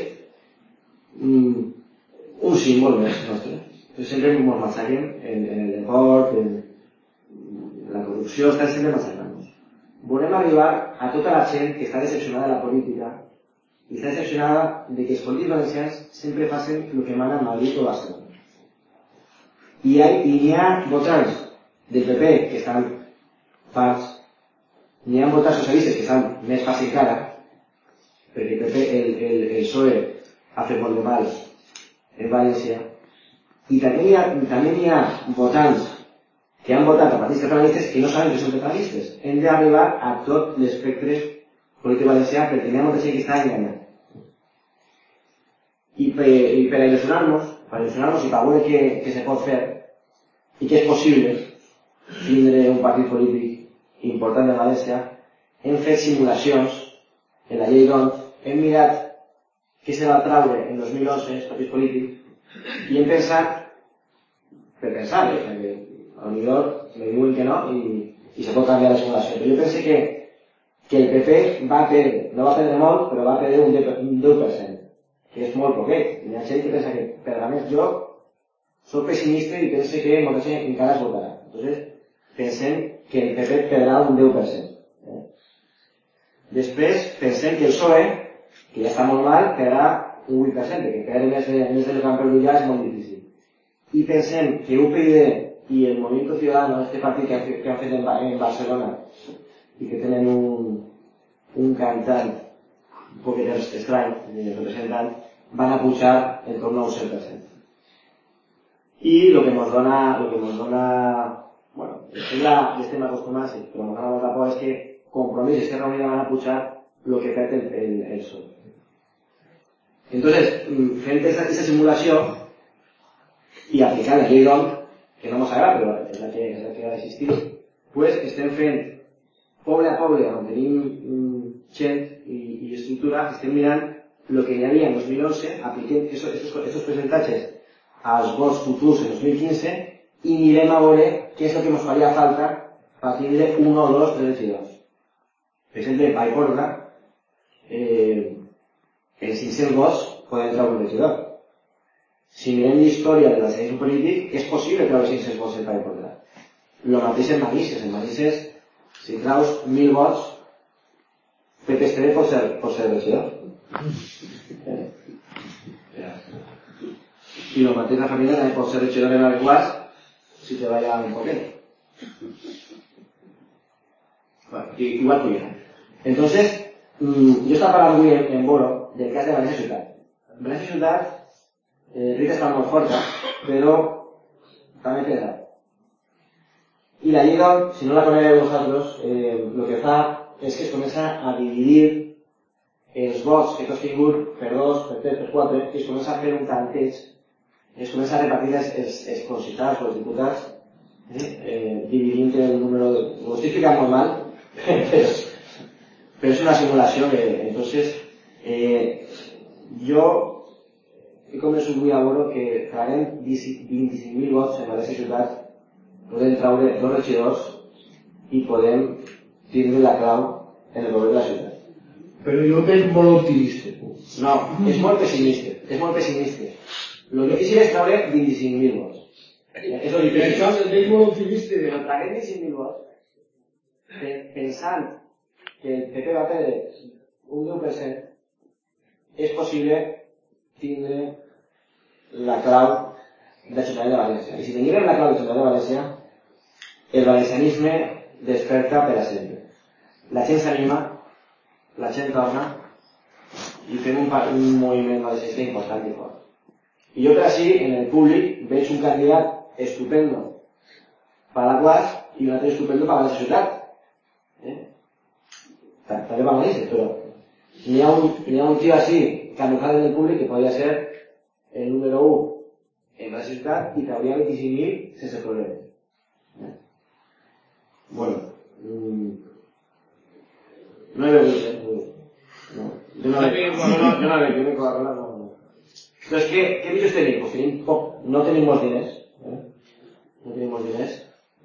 un símbol més nostre. Sempre ens mataquen en el deport, en la corrupció, estan sempre matacant-nos. Volem arribar a tota la gent que està decepcionada de la política i està decepcionada de que els polítics valencians sempre facin el que mana a Madrid o Barcelona. I n'hi ha votants del PP que estan farts, n'hi ha votants socialistes que estan més farts encara, perquè el PSOE ha fet molt de mal en València, i també n'hi ha votants que han votat a partits catalanistes que no saben que són catalanistes. Hem d'arribar a tot l'espectre polític valencià perquè n'hi ha molta gent que està enganyant. I per il·lusionar-nos i per veure què se pot fer i que és possible tindre un partit polític important de València, hem fet simulacions en la llei d'ONT, hem mirat què se va traure en 2011 els partits polítics i hem pensat, per pensar, perquè potser me diuen que no i se pot canviar la simulació, però jo penso que el PP va perdre, no va perdre molt, però va perdre un 10%, que és molt poquet. Hi ha gent que pensa que perdrà més. Jo soc pessimista i penso que molta gent encara es votarà. Entonces, pensem que el PP perdrà un 10%. Després, pensem que el PSOE, que ja està molt mal, perdrà un 8%, que perdre més del que han perdut ja és molt difícil. I pensem que UPyD i el Movimiento Ciudadano, este partit que han fet en Barcelona i que tenen un cantant un poquet estrany, representant, van a pujar en torno a un 7%. I el que nos dona, bueno, estem acostumats, però nos dona molta por és que Compromís i Esquerra Unida van a pujar el que perd el PSOE. Entonces, fent aquesta simulació i aplicant la llei d'ONT, que no ens agrada, però és la que ha d'existir, pues estem fent poble a poble on tenim gent i estructura, estem mirant el que hi havia en 2011, apliquem aquests percentatges als vots futurs en 2015 i mirem a veure què és el que ens faria falta per tindre 1 o 2 3 regidors. Per exemple, a Vallbordra, en 500 vots poden treure un regidor. Si mirem l'història del valencianisme polític, és possible treure 500 vots en Vallbordra. El mateix en Manises. En Manises, si treus 1.000 vots, Pepe Esteve pot ser regidor. I el mateix la família també pot ser regidor en Alguàs si te vaya un poquet. Bueno, igual que yo. Entonces, yo estaba hablando muy en Boro del cas de València Ciutat. València Ciutat, Rita està molt forta, però també pesa. I la llei d'ONT, si no la conegueu vosaltres, el que fa és que es comença a dividir els vots que tu has tingut per 2, per 3, per 4, i es comença a fer un tanteig, es comença a repartir els consitats o els diputats, dividint el número de... Ho estic ficant molt mal, però és una simulació que, entonces, jo he convençut avui a veure que traguem 25.000 vots en València ciutat, podem traure 2 regidors i podem tindre la clau en el govern de la ciutat. Però jo veig molt optimista. No, és molt pessimista, és molt pessimista. Lo difícil és traure 25.000 vots. És lo difícil. Això el veig molt optimista. Però traguem 25.000 vots pensant que el PP va perdre un 10%, és possible tindre la clau de Ciutat de València. I si tinguem la clau de Ciutat de València, el valencianisme desperta per a sempre. La gent s'anima, la gent torna i fem un moviment valencianista important i fort. I jo per així, en el públic, veig un candidat estupendo per a la Quas i un altre estupendo per a la ciutat. També per a València, però hi ha un tio així, camuflat en el públic, que podria ser el número 1 en la ciutat i trauria 25.000 sense problemes. Bueno, no he begut, no. Yo no me Coca-Cola, no. Entonces, ¿qué bichos tenim? Pues tenim poc, no tenim molts diners, no tenim molts diners,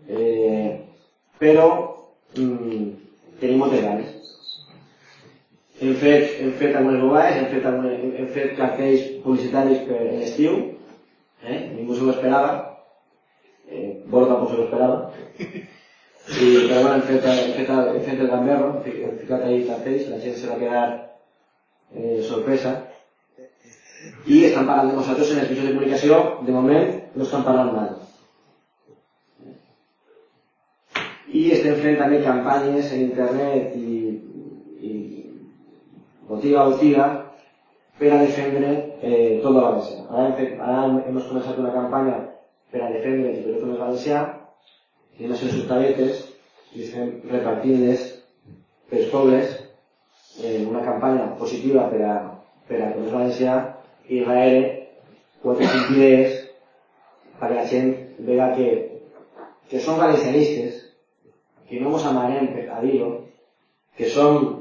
però tenim moltes ganes. Hem fet algunes bobades, hem fet cartells publicitaris per l'estiu, ningú se ho esperava, Bolo tampoc se ho esperava, però bueno, hem fet el gamberro, hem ficat ahí cartells, la gent se va quedar sorpresa, i estan parlant de nosaltres en els mitjans de comunicació, de moment no estan parlant mal. I estem fent també campanyes en internet i botiga a botiga per a defendre tot el valencià. Ara hem començat una campanya per a defendre el territori valencià, i hem fet subtabetes i estem repartint-les pels pobles en una campanya positiva per a comerç valencià i darrere 4 o 5 idees perquè la gent vega que som valencianistes, que no ens amaguem a dir-ho, que som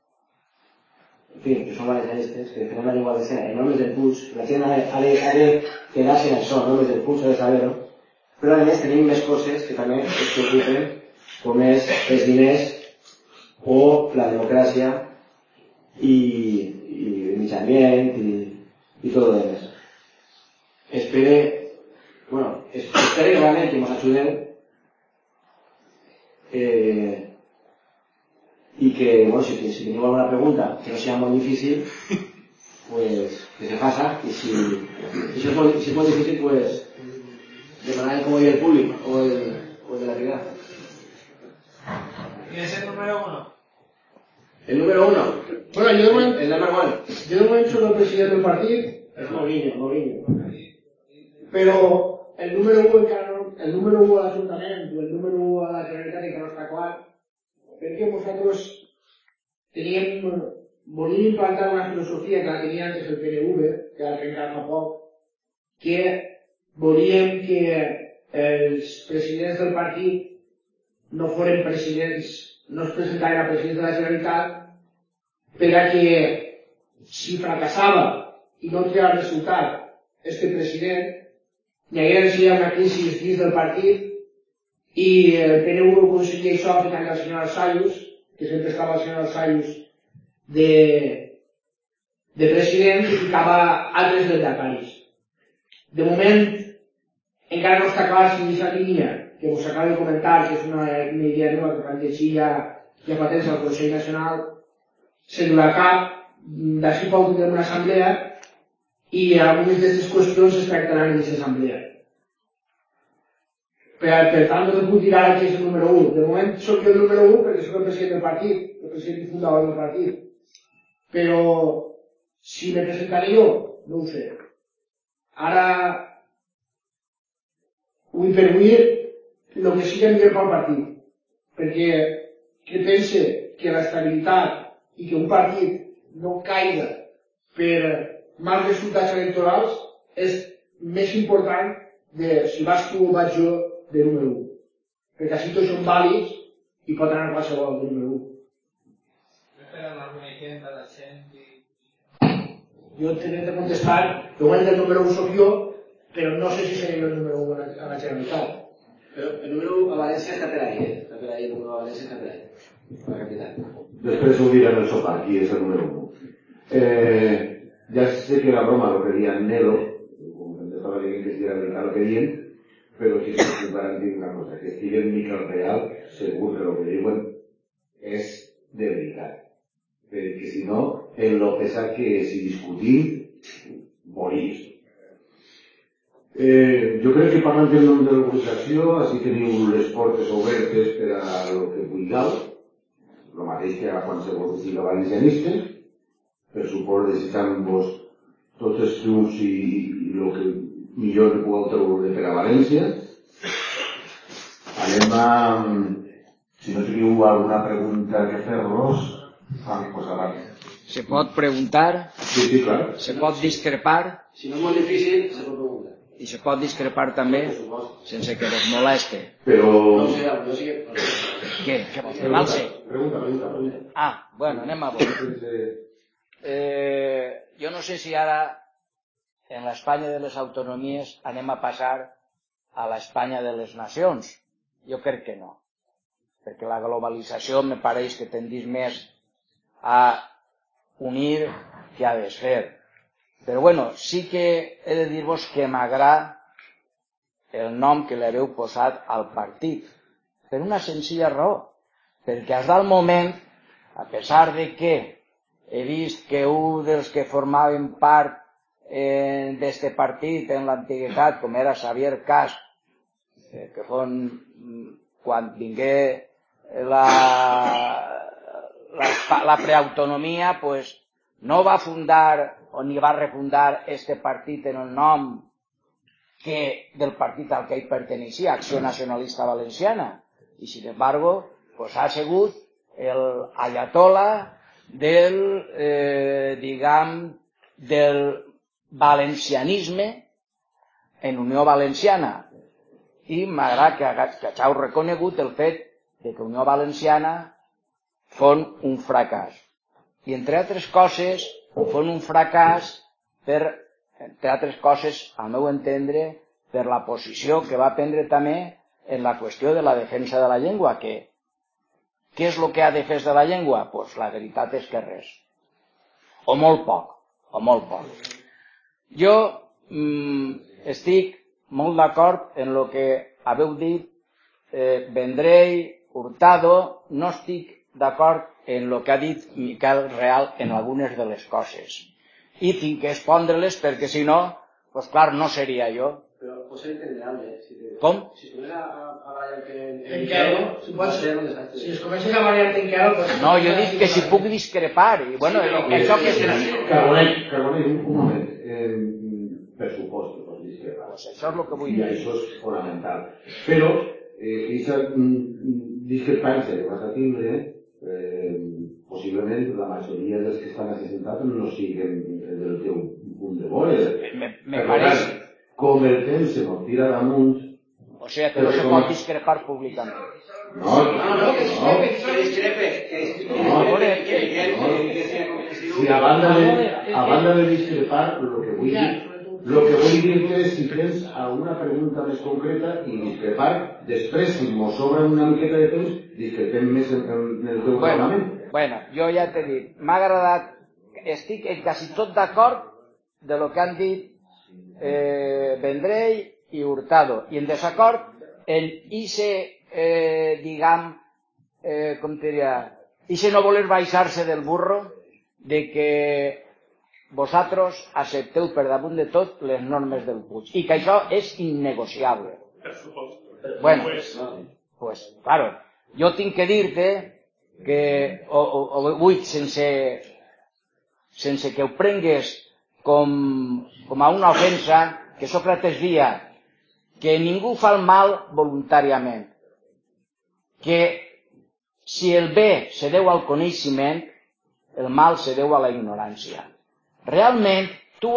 valencianistes, que defendem la llengua valenciana en noms del Puig. La gent ha de quedar-se en això, en noms del Puig, ha de saber-ho, però a més tenim més coses que també es preocupen, com és els diners o la democràcia i el mig ambient i tot el demás. Espere realment que ens ajudeu y que, bueno, si teniu alguna pregunta que no sea muy difícil, pues que se pasa, y si es muy difícil, pues demanar como el público o el de la ciudad. ¿Quién es el número 1? El número 1. Bueno, yo de momento, el number 1. Yo de momento soy el presidente del partido. Es Mourinho. Però el número 1 de l'Ajuntament o el número 1 de la Generalitat encara no està clar, perquè nosaltres volíem implantar una filosofia que la tenia antes el PNV, que la trencat fa poc, que volíem que els presidents del partit no foren presidents, no es presentaren a presidents de la Generalitat, per a que si fracassava i no tenia resultat este president, hi haguera una crisi dins del partit i el PNV aconseguia això ficant el senyor Arsayus, que sempre estava el senyor Arsayus de president, i ficava altres lehendakaris. De moment, encara no està clar si aquesta línia que us acabo de comentar, que és una idea nova que vam llegir ja fa temps al Consell Nacional, se durà a cap, d'ací poc tindrem una assemblea i algunes d'aquestes qüestions es tractaran en aquesta assemblea. Per tant, no puc dir ara que és el número 1. De moment soc jo el número 1 perquè soc el president del partit, el president i fundador del partit. Però si me presentaré jo, no ho sé. Ara, avui per avui, el que sigui millor pel partit. Perquè que pense que l'estabilitat i que un partit no caiga per mals resultats electorals és més important de si vas tu o vaig jo de número 1. Perquè així tots són vàlids i pot anar qualsevol de número 1. Esperen alguna gent de la gent i... Jo t'he de contestar, de moment el número 1 soc jo, però no sé si seré el número 1 a la Generalitat. Però el número 1 a València està per ahí, està per ahí, el número a València està per ahí, a la capital. Després ho dirán el sofà, qui és el número 1. Ya sé que la broma lo querían Nelo, como estaba diciendo que si era verdad lo querían, pero sí que se garantir una cosa, que Steven Miquel Real, según que lo que diuen, es de veritat. Perquè si no, en lo pesat que és i discutir, morís. Jo crec que parlant del nom de l'organització, així teniu les portes obertes per a lo que vulgueu, el mateix que a qualsevol que siga valencianista, per suport desitjant-vos tots els triomfs i el que millor que pugueu treure per a València. Anem a... Si no teniu alguna pregunta que fer-los, pues abans. Se pot preguntar, Sí, clar. se pot discrepar, Si no és molt difícil, se pot preguntar. i se pot discrepar també sense que vos moleste. Però... No ho sé, jo sí que... Què? Què vols fer, Valse? Pregunta. Ah, bueno, anem a veure. Jo no sé si ara en l'Espanya de les autonomies anem a passar a l'Espanya de les nacions. Jo crec que no. Perquè la globalització me pareix que tendís més a unir que a desfer. Però bueno, sí que he de dir-vos que m'agrada el nom que li haveu posat al partit. Per una senzilla raó. Perquè has del moment, a pesar de que he vist que un dels que formaven part d'este partit en l'antiguitat, com era Xavier Cas, que quan vingué la preautonomia, pues no va fundar o ni va refundar este partit en el nom del partit al que ell perteneixia, Acció Nacionalista Valenciana. Y sin embargo, pues ha sigut el ayatollah del valencianisme en Unió Valenciana. I m'agrada que hàgiu reconegut el fet de que Unió Valenciana fon un fracàs. I entre altres coses, fon un fracàs entre altres coses, al meu entendre, per la posició que va prendre també en la qüestió de la defensa de la llengua, que què és el que ha defès de la llengua? Doncs la veritat és que res. O molt poc. Jo estic molt d'acord en el que haveu dit Vendrell, Hurtado, no estic d'acord en el que ha dit Miquel Real en algunes de les coses. I tinc que expondre-les perquè si no, doncs clar, no seria jo. Però pot ser entenderable. Com? Si tu ves a variar En Quero, si es comences a variar en Quero... No, jo dic que si puc discrepar, i bueno, això que és... Carbonell, un moment. Per supost que pots discrepar. Pues això és el que vull dir. I dir. això és fonamental. Però, aquesta discrepància que vas a tindre, possiblement la majoria dels que estan assentats no siguen del teu punt de veure. Me pareix... Com el temps se nos tira damunt... O sigui, que no se pot discrepar públicament. No, que discrepe. Si a banda de discrepar, lo que vull dir és si tens alguna pregunta més concreta i discrepar, després, si mos sobra una miqueta de temps, discrepem més en el teu parlament. Bueno, jo ja t'he dit, m'ha agradat, estic en quasi tot d'acord de lo que han dit Vendrell i Hurtado, i en desacord en ixe, com te diria, ixe no voler baixar-se del burro de que vosaltres accepteu per damunt de tot les normes del Puig i que això és innegociable. Bueno, pues claro, jo tinc que dir-te que o vull sense que ho prengues com a una ofensa, que Sòcrates dia que ningú fa el mal voluntàriament, que si el bé se deu al coneixement, el mal se deu a la ignorància. Realment, tu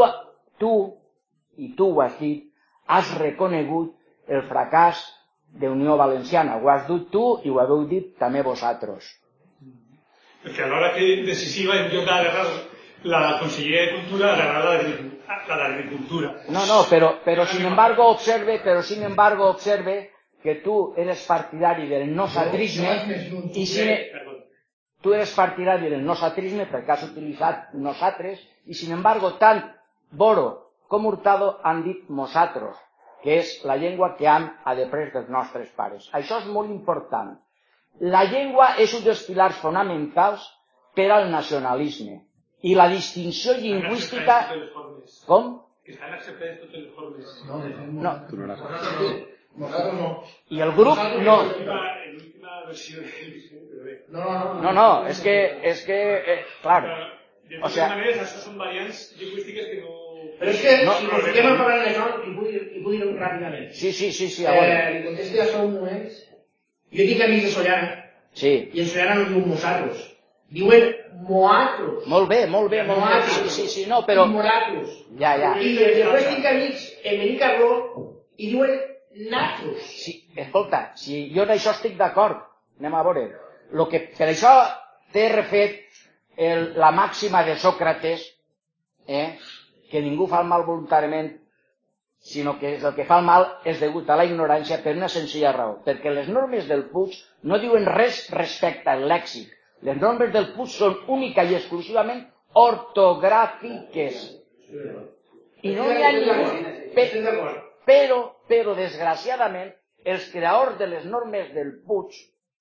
ho has dit, has reconegut el fracàs d'Unió Valenciana. Ho has dit tu i ho heu dit també vosaltres. Perquè a l'hora decisiva, en lloc d'agarrar la Conselleria de Cultura, agarrar la d'Agricultura. No, pero sin embargo observe que tú eres partidario del nosatrisme y tú eres partidario del nosatrisme perquè has utilitzat nosaltres i sin embargo tant Boro com Hurtado han dit mosatros, que és la llengua que han après dels nostres pares. Això és molt important. La llengua és un dels pilars fonamentals per al nacionalisme i la distinció lingüística... Com? Que estan acceptades totes les formes. No. Nosaltres no. I el grup no. L'última versió del diccionari. No, és que, claro. De totes maneres, això són variants lingüístiques que no... Però és que, si ens fiquem a parlar d'això, hi puc dir ràpidament. Sí, a veure. Li contesto ja són moments. Jo tinc amics de Sollana, i en Sollana no diuen mosatros, diuen moatros. Molt bé. Sí, no, però... I moratros. Ja. I després tinc amics en Benicarló i diuen natros. Sí, escolta, si jo en això estic d'acord, anem a veure. Per això t'he refet la màxima de Sòcrates, que ningú fa el mal voluntàriament, sinó que el que fa el mal és degut a la ignorància per una senzilla raó, perquè les normes del Puig no diuen res respecte al lèxic. Les normes del Puig són única i exclusivament ortogràfiques. I no n'hi ha ningú. Però, desgraciadament, els creadors de les normes del Puig,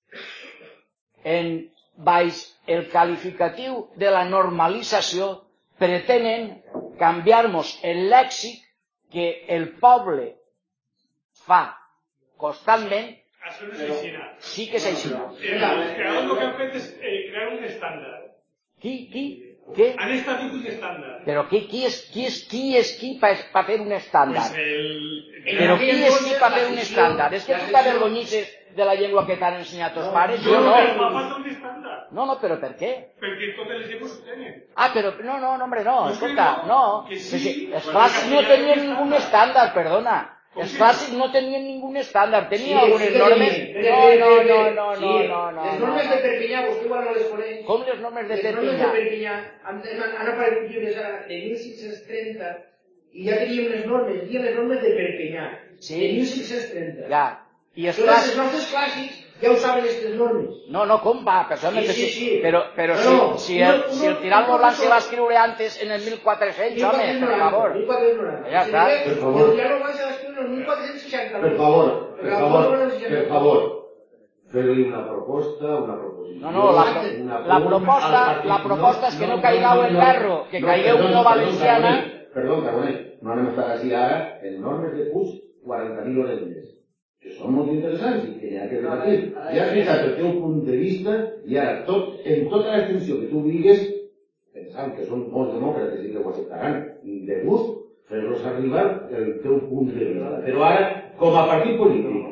baix el qualificatiu de la normalització, pretenen canviar-nos el lèxic que el poble fa constantment. Això no és així. Sí que és així. Els creadors el que han fet és crear un estàndard. Què? Han establit un estàndard. Però qui és qui per fer un estàndard? Però qui és qui per fer un estàndard? És que tu t'avergonyisses de la llengua que t'han ensenyat els pares? Jo no. Fa falta un estàndard. No, però per què? Perquè totes les llengües ho tenen. Però no, hombre, no, escolta, no. Els clàssics no tenien ningú estàndard, perdona. Els clàssics no tenien ningú estàndard, tenien algunes normes... No. Les normes de Perpinyà, vostè igual no les coneix. Com les normes de Perpinyà? Les normes de Perpinyà han aparegut llibres de 1630 i ja teníem les normes, dien les normes de Perpinyà, de 1630. Ja. I els nostres clàssics ja ho saben aquestes normes. No, com va? Sí. Però si el Tiralmo Blanc se va escriure antes en el 1400, home, per favor. 1490. Ja està. El Tiralmo Blanc se va escriure en el 1460. Per favor. Fer-li una proposta, una proposició... No, la proposta és que no caigueu en l'erro, que caigueu una valenciana... Perdó, Carbonell, no anem a estar així ara en normes de Puig 40.000 hores més. Que són molt interessants i que n'hi ha que debatir. Ja has ficat el teu punt de vista i ara, en tota l'extensió que tu digues, pensant que són molts demòcrates i que ho acceptaran, i de gust, fer-los arribar el teu punt de vista. Però ara, com a partit polític,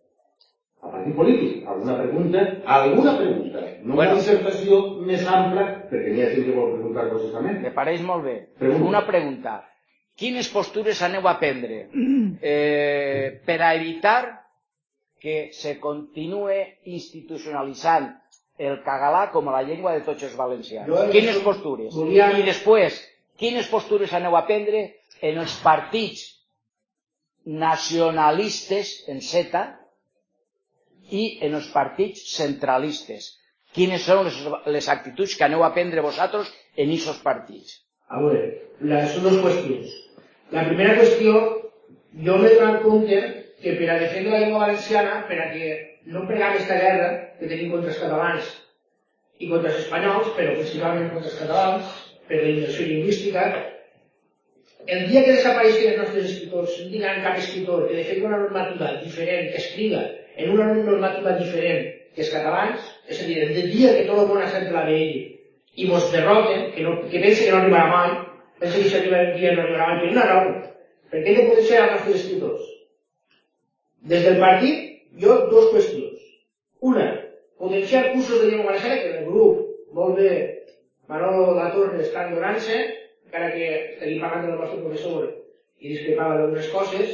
alguna pregunta, no una dissertació més ampla, perquè n'hi ha gent que vol preguntar coses també. Me pareix molt bé. Una pregunta. Quines postures aneu a prendre per a evitar que se continue institucionalitzant el català com a la llengua de tots els valencians? Quines postures? I després, quines postures aneu a prendre en els partits nacionalistes, en Z, i en els partits centralistes? Quines són les actituds que aneu a prendre vosaltres en aquests partits? A veure, són dues qüestions. La primera qüestió, jo m'he donat compte que per a defendre la llengua valenciana, per a que no pregam aquesta guerra que tenim contra els catalans i contra els espanyols, però principalment contra els catalans, per la immersió lingüística, el dia que desapareixen els nostres escriptors, no tindran cap escriptor que defengui una normativa diferent, que escriga en una normativa diferent que els catalans, és a dir, el dia que tot el món s'entla d'ell i mos derroten, que pensa que no arribarà mai, pensa que si arriba el dia no arribarà mai, per una raó, perquè hem de protegir els nostres escriptors. Des del partit, jo, dues qüestions. Una, potenciar cursos de llengua valenciana, que en el grup molt bé Manolo Latorre està endonant-se, encara que estaria parlant del nostre professor i discrepava d'algunes coses.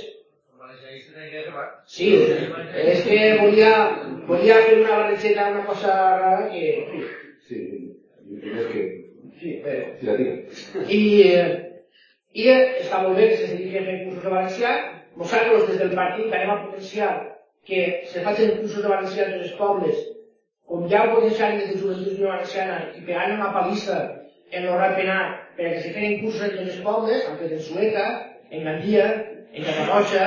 Sí, és que volia fer una barrejeta, una cosa rara que... Sí, és que... Sí, però... Sí, la tira. I està molt bé que se dediqui a fer cursos de valencià. Nosaltres, des del partit, anem a potenciar que se facin cursos de valencià en els pobles, com ja ho potenciaren des de Joventut Unió Valenciana, i pegant una palissa en l'horari penal perquè se feien cursos en tots els pobles, han fet en Sueca, en Gandia, en Catarroja,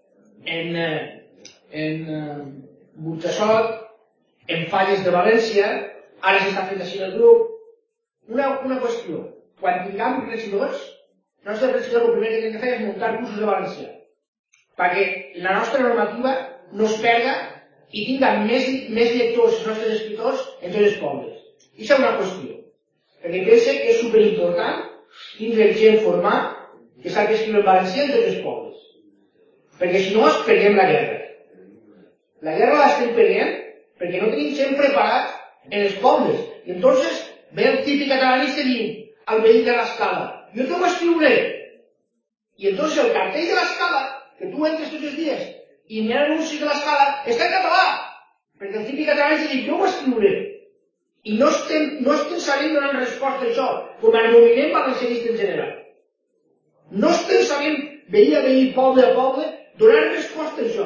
en Burjassot, en Falles de València, ara s'està fent així en el grup. Una qüestió, quan tinguem regidors, el nostre regidor el primer que hem de fer és muntar cursos de valencià, perquè la nostra normativa no es perda i tinga més lectors els nostres escriptors en tots els pobles. I això és una qüestió, perquè penso que és superimportant tindre gent format que sap escriure en valencià en tots els pobles. Perquè si no, perdem la guerra. La guerra l'estem perdent perquè no tenim gent preparat en els pobles. I entonces ve el típic catalanista dient al veí de l'escala, jo te ho escriuré. I entonces el cartell de l'escala, que tu entres tots els dies i n'hi ha anuncis de l'escala, està en català. Perquè el típic catalanista diu, jo ho escriuré. I no estem sabent donar resposta a això, com al moviment valencianista en general. No estem sabent, veí a veí, poble a poble, donar resposta a això.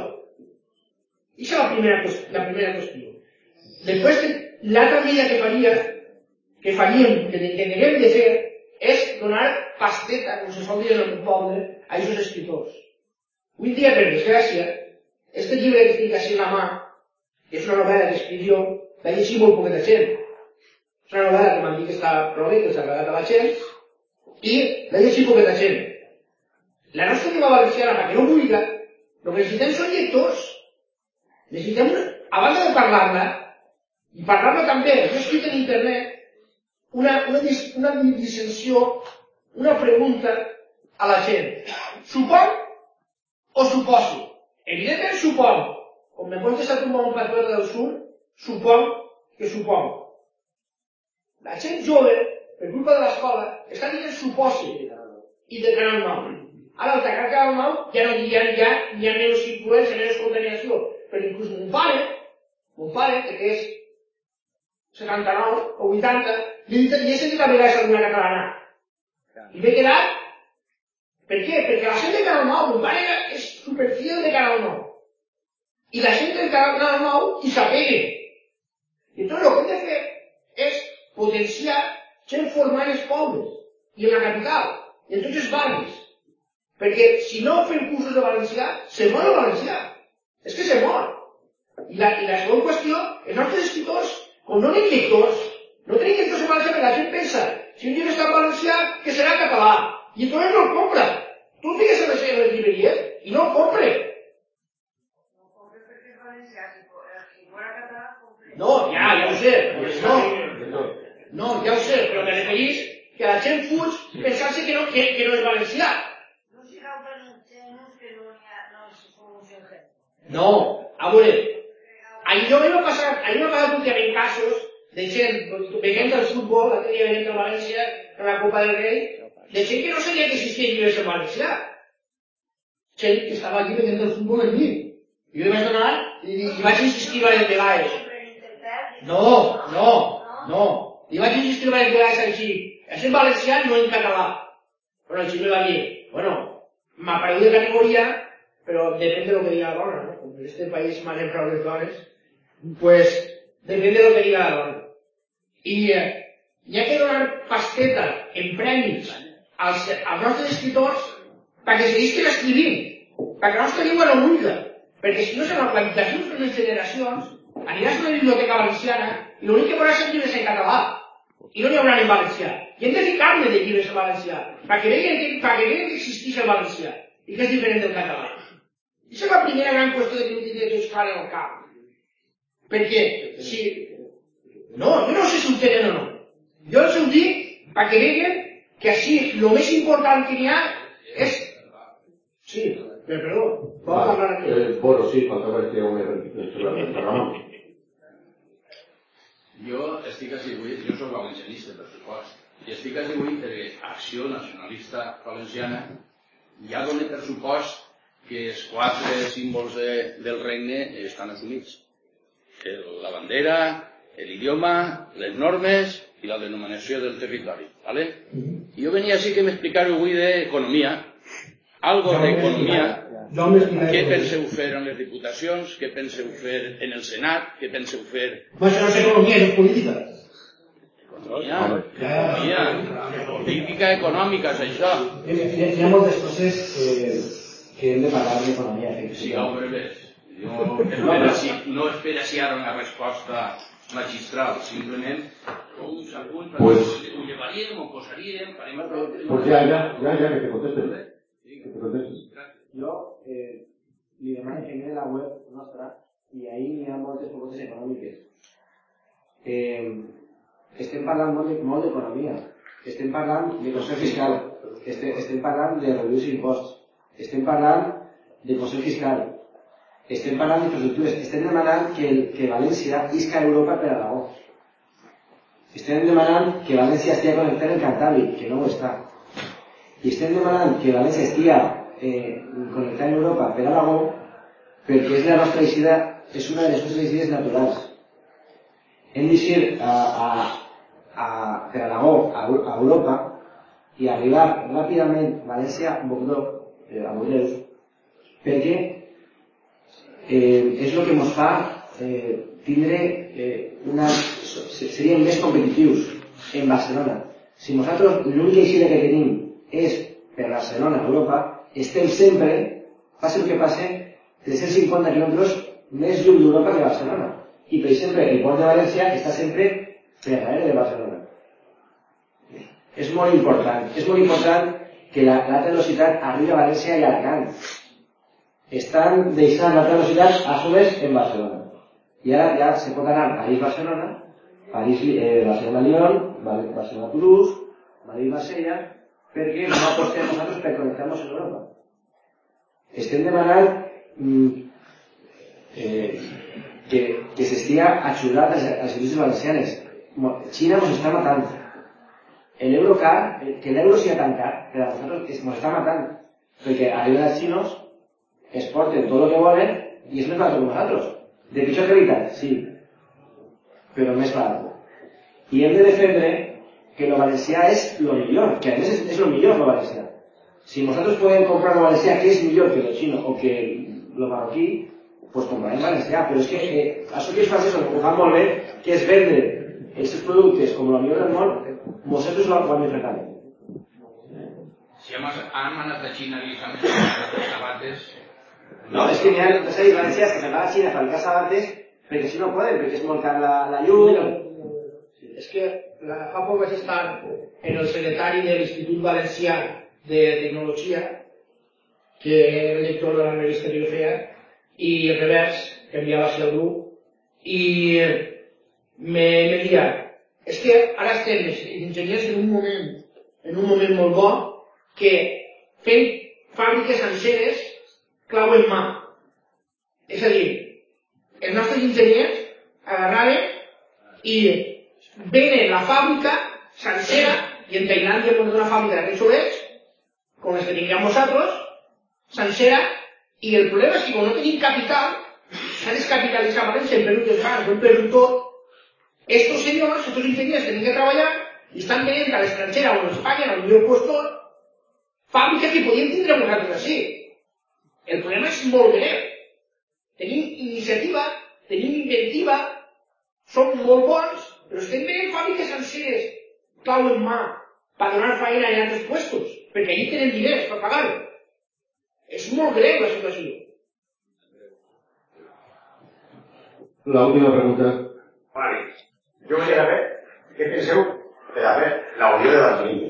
I això és la primera qüestió. Després, l'altra medida que faríem, que devem de fer, és donar pasteta, com se sol dir en el poble, a aquests escriptors. Avui dia, per desgràcia, este llibre que estic així a la mà, que és una novel·la que escric jo, l'ha llegit molt poqueta gent. És una novel·la que m'han dit que està prou bé, que s'ha agradat a la gent, i l'ha llegit poqueta gent. La nostra llengua valenciana, perquè no vulgui, el que necessitem són lectors. Necessitem, a banda de parlar-la, i parlar-la també, jo he escrit en internet, una dissensió, una pregunta a la gent. Supon o suposo? Evidentment supon. Com me contesta tu un patriota del sud, supon que supon. La gent jove, per culpa de l'escola, està dient suposi i de Canal 9. Ara, al tacar Canal 9, ja no hi ha menys influència, menys contaminació. Però inclús mon pare, que és 79 o 80, li he sentit a vegades alguna catalana. I m'he quedat... Per què? Perquè la gent de Canal 9, mon pare és superfiel de Canal 9. I la gent del Canal 9 hi s'apeguen. I entonces el que hem de fer és potenciar gent formada en els pobles i en la capital i en tots els barris. Perquè si no fem cursos de valencià, se mor el valencià. És que se mor. I la segona qüestió, els nostres escriptors, com no tenim lectors, no tenim lectors en valencià, perquè la gent pensa, si un llibre està en valencià, que serà català. I entonces no el compra. Tu el digues a les llibreries i no el compre. No compre perquè és valencià, si fora català, compre. No, ja ho sé. No, ja ho sé, però me referís que la gent fuig pensant-se que no és valencià. No sigueu tan ingenus que no es pronuncien gent. No, a veure, ahir no m'ha passat últimament casos de gent veient el futbol, l'altre dia veient el València en la Copa del Rei, de gent que no sabia que existia llibres en valencià. Gent que estava aquí veient el futbol en mi. I jo li vaig donar i vaig insistir varias vegades. No. Li vaig insistir varias vegades així. És en valencià, no en català. Però el xip me va dir, bueno, m'apareu de categoria, però depèn de lo que diga la dona, ¿no? Com en este país manen prou les dones, pues depèn de lo que diga la dona. I hi ha que donar pasteta en premis als nostres escriptors perquè seguisquen escrivint, perquè la nostra llengua no mulla, perquè si no serà quan d'aquí unes generacions aniràs a una biblioteca valenciana i l'únic que veuràs són llibres en català i no n'hi haurà en valencià. I hem de ficar-ne de llibres en valencià perquè vegin que existeix el valencià i que és diferent del català. I això és la primera gran qüestió que hem de tenir tots clar en el cap. Perquè si... No, jo no sé si ho tenen o no. Jo els ho dic perquè vegin que així el més important que n'hi ha és... Sí, perdó. Bueno, sí, faltaba este hombre el programa. Jo estic atribuït, jo soc valencianista, per supost, i estic atribuït perquè Acció Nacionalista Valenciana ja dona per supost que els 4 símbols del regne estan assumits. La bandera, l'idioma, les normes i la denominació del territori. ¿Vale? Jo venia així que m'explicaré avui d'economia, algo d'economia. Què penseu fer en les diputacions? Què penseu fer en el Senat? Què penseu fer... Això no és economia, és política. Economia. Política econòmica, és això. Hi ha moltes coses que hem de parlar d'economia. Sigueu breves. No espera si ara una resposta magistral, simplement uns apunts, ho llevaríem, ho posaríem, farem el problema... Pues ya, que te contestes. Jo li demano que mire la web nostra i ahí hi ha moltes propostes econòmiques. Estem parlant molt d'economia, estem parlant de concert fiscal, estem parlant de reduir imposts, estem parlant de concert fiscal, estem parlant d'infraestructures, estem demanant que València isca a Europa per Aragó. Estem demanant que València estigui connectat en Cantàbric, que no ho està. I estem demanant que València estigui connectar en Europa per Aragó perquè és la nostra eixida, és una de les nostres eixides naturals. Hem d'eixir per Aragó a Europa i arribar ràpidament a València a Bordeus perquè és el que ens fa tindre seríem més competitius en Barcelona. Si nosaltres l'única eixida que tenim és per Barcelona a Europa, estem sempre, passi el que passe, 350 quilòmetres més lluny d'Europa que Barcelona. I, per exemple, el port de València està sempre per darrere de Barcelona. És molt important que l'alta velocitat arribi a València i Alacant. Estan deixant l'alta velocitat a soles en Barcelona. I ara ja se pot anar a París-Barcelona, Barcelona-Lyon, Barcelona-Toulouse, Madrid-Marsella, perquè no apostem nosaltres per connectar-nos en Europa. Estem demanant que s'estigui ajudat a les indústries valencianes. Xina ens està matant. L'Eurocar, que l'euro sigui tan car, per a nosaltres ens està matant. Perquè arriben els xinos, exporten tot el que volen i és més barat que nosaltres. De pitjor qualitat, sí, però més barat. I hem de defendre que lo valencià és lo millor, que a més és lo millor lo valencià. Si nosaltres podem comprar lo valencià que és millor que lo xino o que lo marroquí, pues comprarem valencià, però és que això que els francesos ho fan molt bé, que és vendre els seus productes com lo millor del món, nosaltres ho hem de fer. Si hem anat a Xina i s'han fet sabates... No, és que n'hi ha valencians que se'n van a Xina a fabricar sabates perquè si no poden, perquè és molt car la llum... És que fa poc vaig estar en el secretari de l'Institut Valencià de Tecnologia, que era el lector de la revista que jo feia, i el revers, que enviava hacia el grup, i me deia, és que ara estem els enginyers en un moment molt bo, que fent fàbriques senceres clau en mà. És a dir, els nostres enginyers agarraven i venen la fàbrica sencera, i en Tailàndia hem una fàbrica d'aquests obrers, com les que tinguem nosaltres, sencera, i el problema és que quan no tenim capital, s'ha descapitalitzat València, en Perú, en Perú tot, estos senyors, estos enginyers tenen que treballar i estan venint a l'estranger o a Espanya, al millor postor, fàbrica que podien tindre nosaltres així. El problema és molt greu. Tenim iniciativa, tenim inventiva, som molt bons, però estem venent fàbriques senceres, clau en mà, per donar feina en altres puestos, perquè allí tenen diners per pagar-ho. És molt greu la situació. La última pregunta. Vale. Yo quería saber qué penseu de hacer la unión de Barcelona.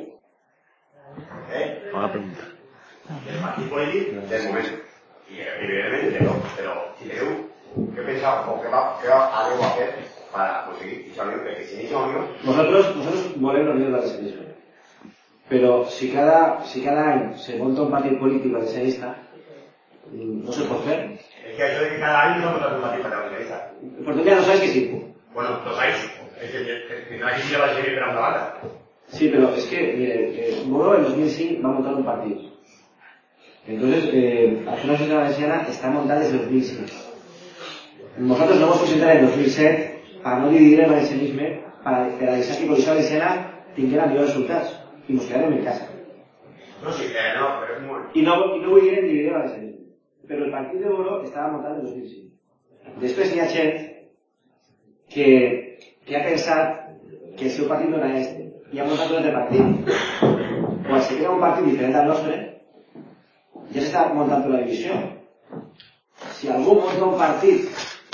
Bona pregunta. El partit polític del moment. I evidentment no, però si teniu què penseu o què aneu a fer per aconseguir aquesta unió, perquè si no hi unió... Nosaltres volem la unió del valencianisme. Però si cada any se monta un partit polític valencianista, no se pot fer. Es que això de que cada any no monta un partit valencianista. Por ya no sabes que sí. Bueno, lo sabéis. no hay que va a seguir una banda. Sí, pero es que, miren, Moro en 2005 va a montar un partido. Entonces, Acció Nacional Valenciana está montada desde 2005. Nosotros no hemos presentado en 2007 para no dividir el valencianismo, para deixar que Coalició Valenciana tinguera millors resultats i ens quedàrem en casa. No, sí, no, però és molt... I no volgueren dividir el valencianisme. Però el partit de Moro estava muntat en 2005. Després hi ha gent que ha pensat que el seu partit no era este i ha muntat un altre partit. Quan se crea un partit diferent al nostre, ja s'està muntant una divisió. Si algú munta un partit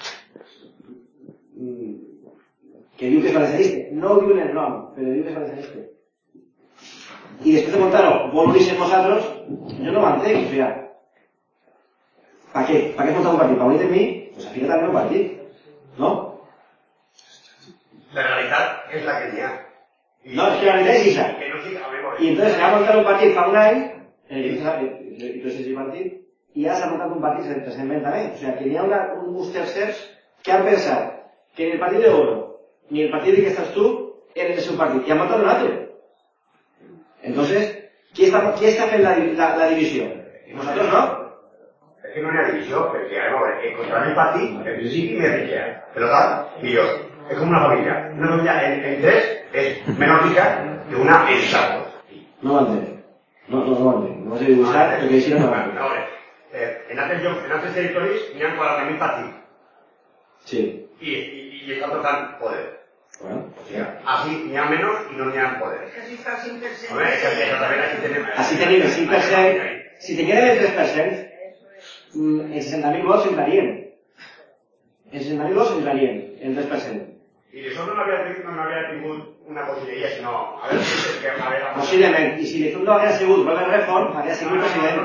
que diu que és valencianista, no ho diu en el nom, però diu que és valencianista, i després de muntar-ho vol unir-se amb nosaltres, jo no ho entenc, o sigui, ¿para qué? ¿Para qué montar un partido? ¿Para unirte en mí? Pues afílate al meu partit, ¿no? La realitat és la que n'hi ha. No, es que la realitat és esa. I entonces se va a montar un partit fa un any, i ese partit, i ara s'ha muntat un partit recentment també. O sigui, que n'hi ha uns tercers que han pensat que ni el partit de Oro ni el partit de que estàs tu eren el seu partit, i han muntat un altre. Entonces, qui està fent la divisió? Nosaltres no. És que no hi ha divisió, perquè a veure, contra el partit, en principi més riquea, per tant, millor. És com una família. Una família en tres és menys rica que una en quatre. No ho entenc. No ho entenc. No ho sé dibuixar, perquè així no ho entenc. A veure, en altres territoris n'hi ha 40.000 partits. Sí. I estan tocant poder. Bueno. O sigui, així n'hi ha menys i no n'hi ha poder. És que així està el 5%. A veure, és que aquí tenim... Així tenim el 5%. Si tinguérem el 3%, els 60.000 vots entrarien. Els 60.000 vots entrarien, el 3%. I això no havia tingut una conselleria, sinó... A veure si és que... Posiblement. I si Lizondo haguera sigut Robert Redford, haguera sigut president.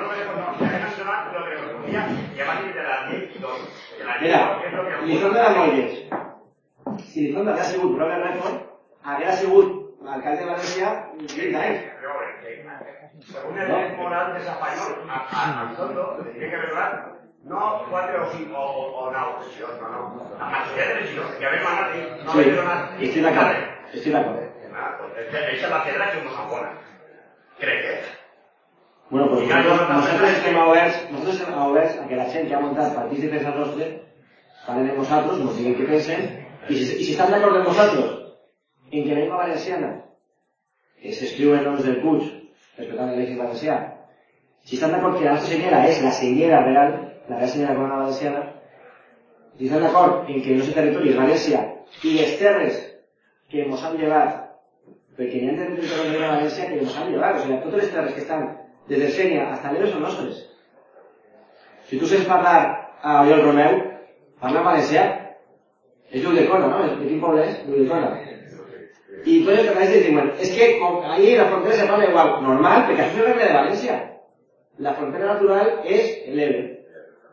Mira, Lizondo era molt lleig. Si Lizondo haguera sigut Robert Redford, haguera sigut alcalde de València 20 anys. Según el derecho moral de español, a Lizondo le tiene que haber no 4 o 5 o una oposición, no. La mayoría de elecciones que habéis mandado no habéis donado. Estoy de acuerdo. Estoy de acuerdo. Esa es la piedra que nos abona. ¿Cree que? Bueno, pues nosotros estem oberts a que la gent que ha muntat partits diferents al nostre parlen amb nosaltres, ens diguin què pensen, i si estan d'acord amb nosaltres en que la llengua valenciana que s'escriu en noms del Puig, respectant el lèxic valencià, si estan d'acord que la nostra senyera és la senyera real, la real senyera corona valenciana, si estan d'acord en que el nostre territori és València i les terres que ens han llevat, perquè n'hi ha territoris de València que ens han llevat, o sigui, totes les terres que estan des de Sènia hasta l'Ebre són nostres. Si tu saps parlar a Oriol Romeu, parla en valencià, és Lluldecona, no? De quin poble és? Lluldecona. Y todos los catalanes dicen, es que ahí la frontera se parla igual, normal, porque aquí es el reino de Valencia. La frontera natural es el Ebre.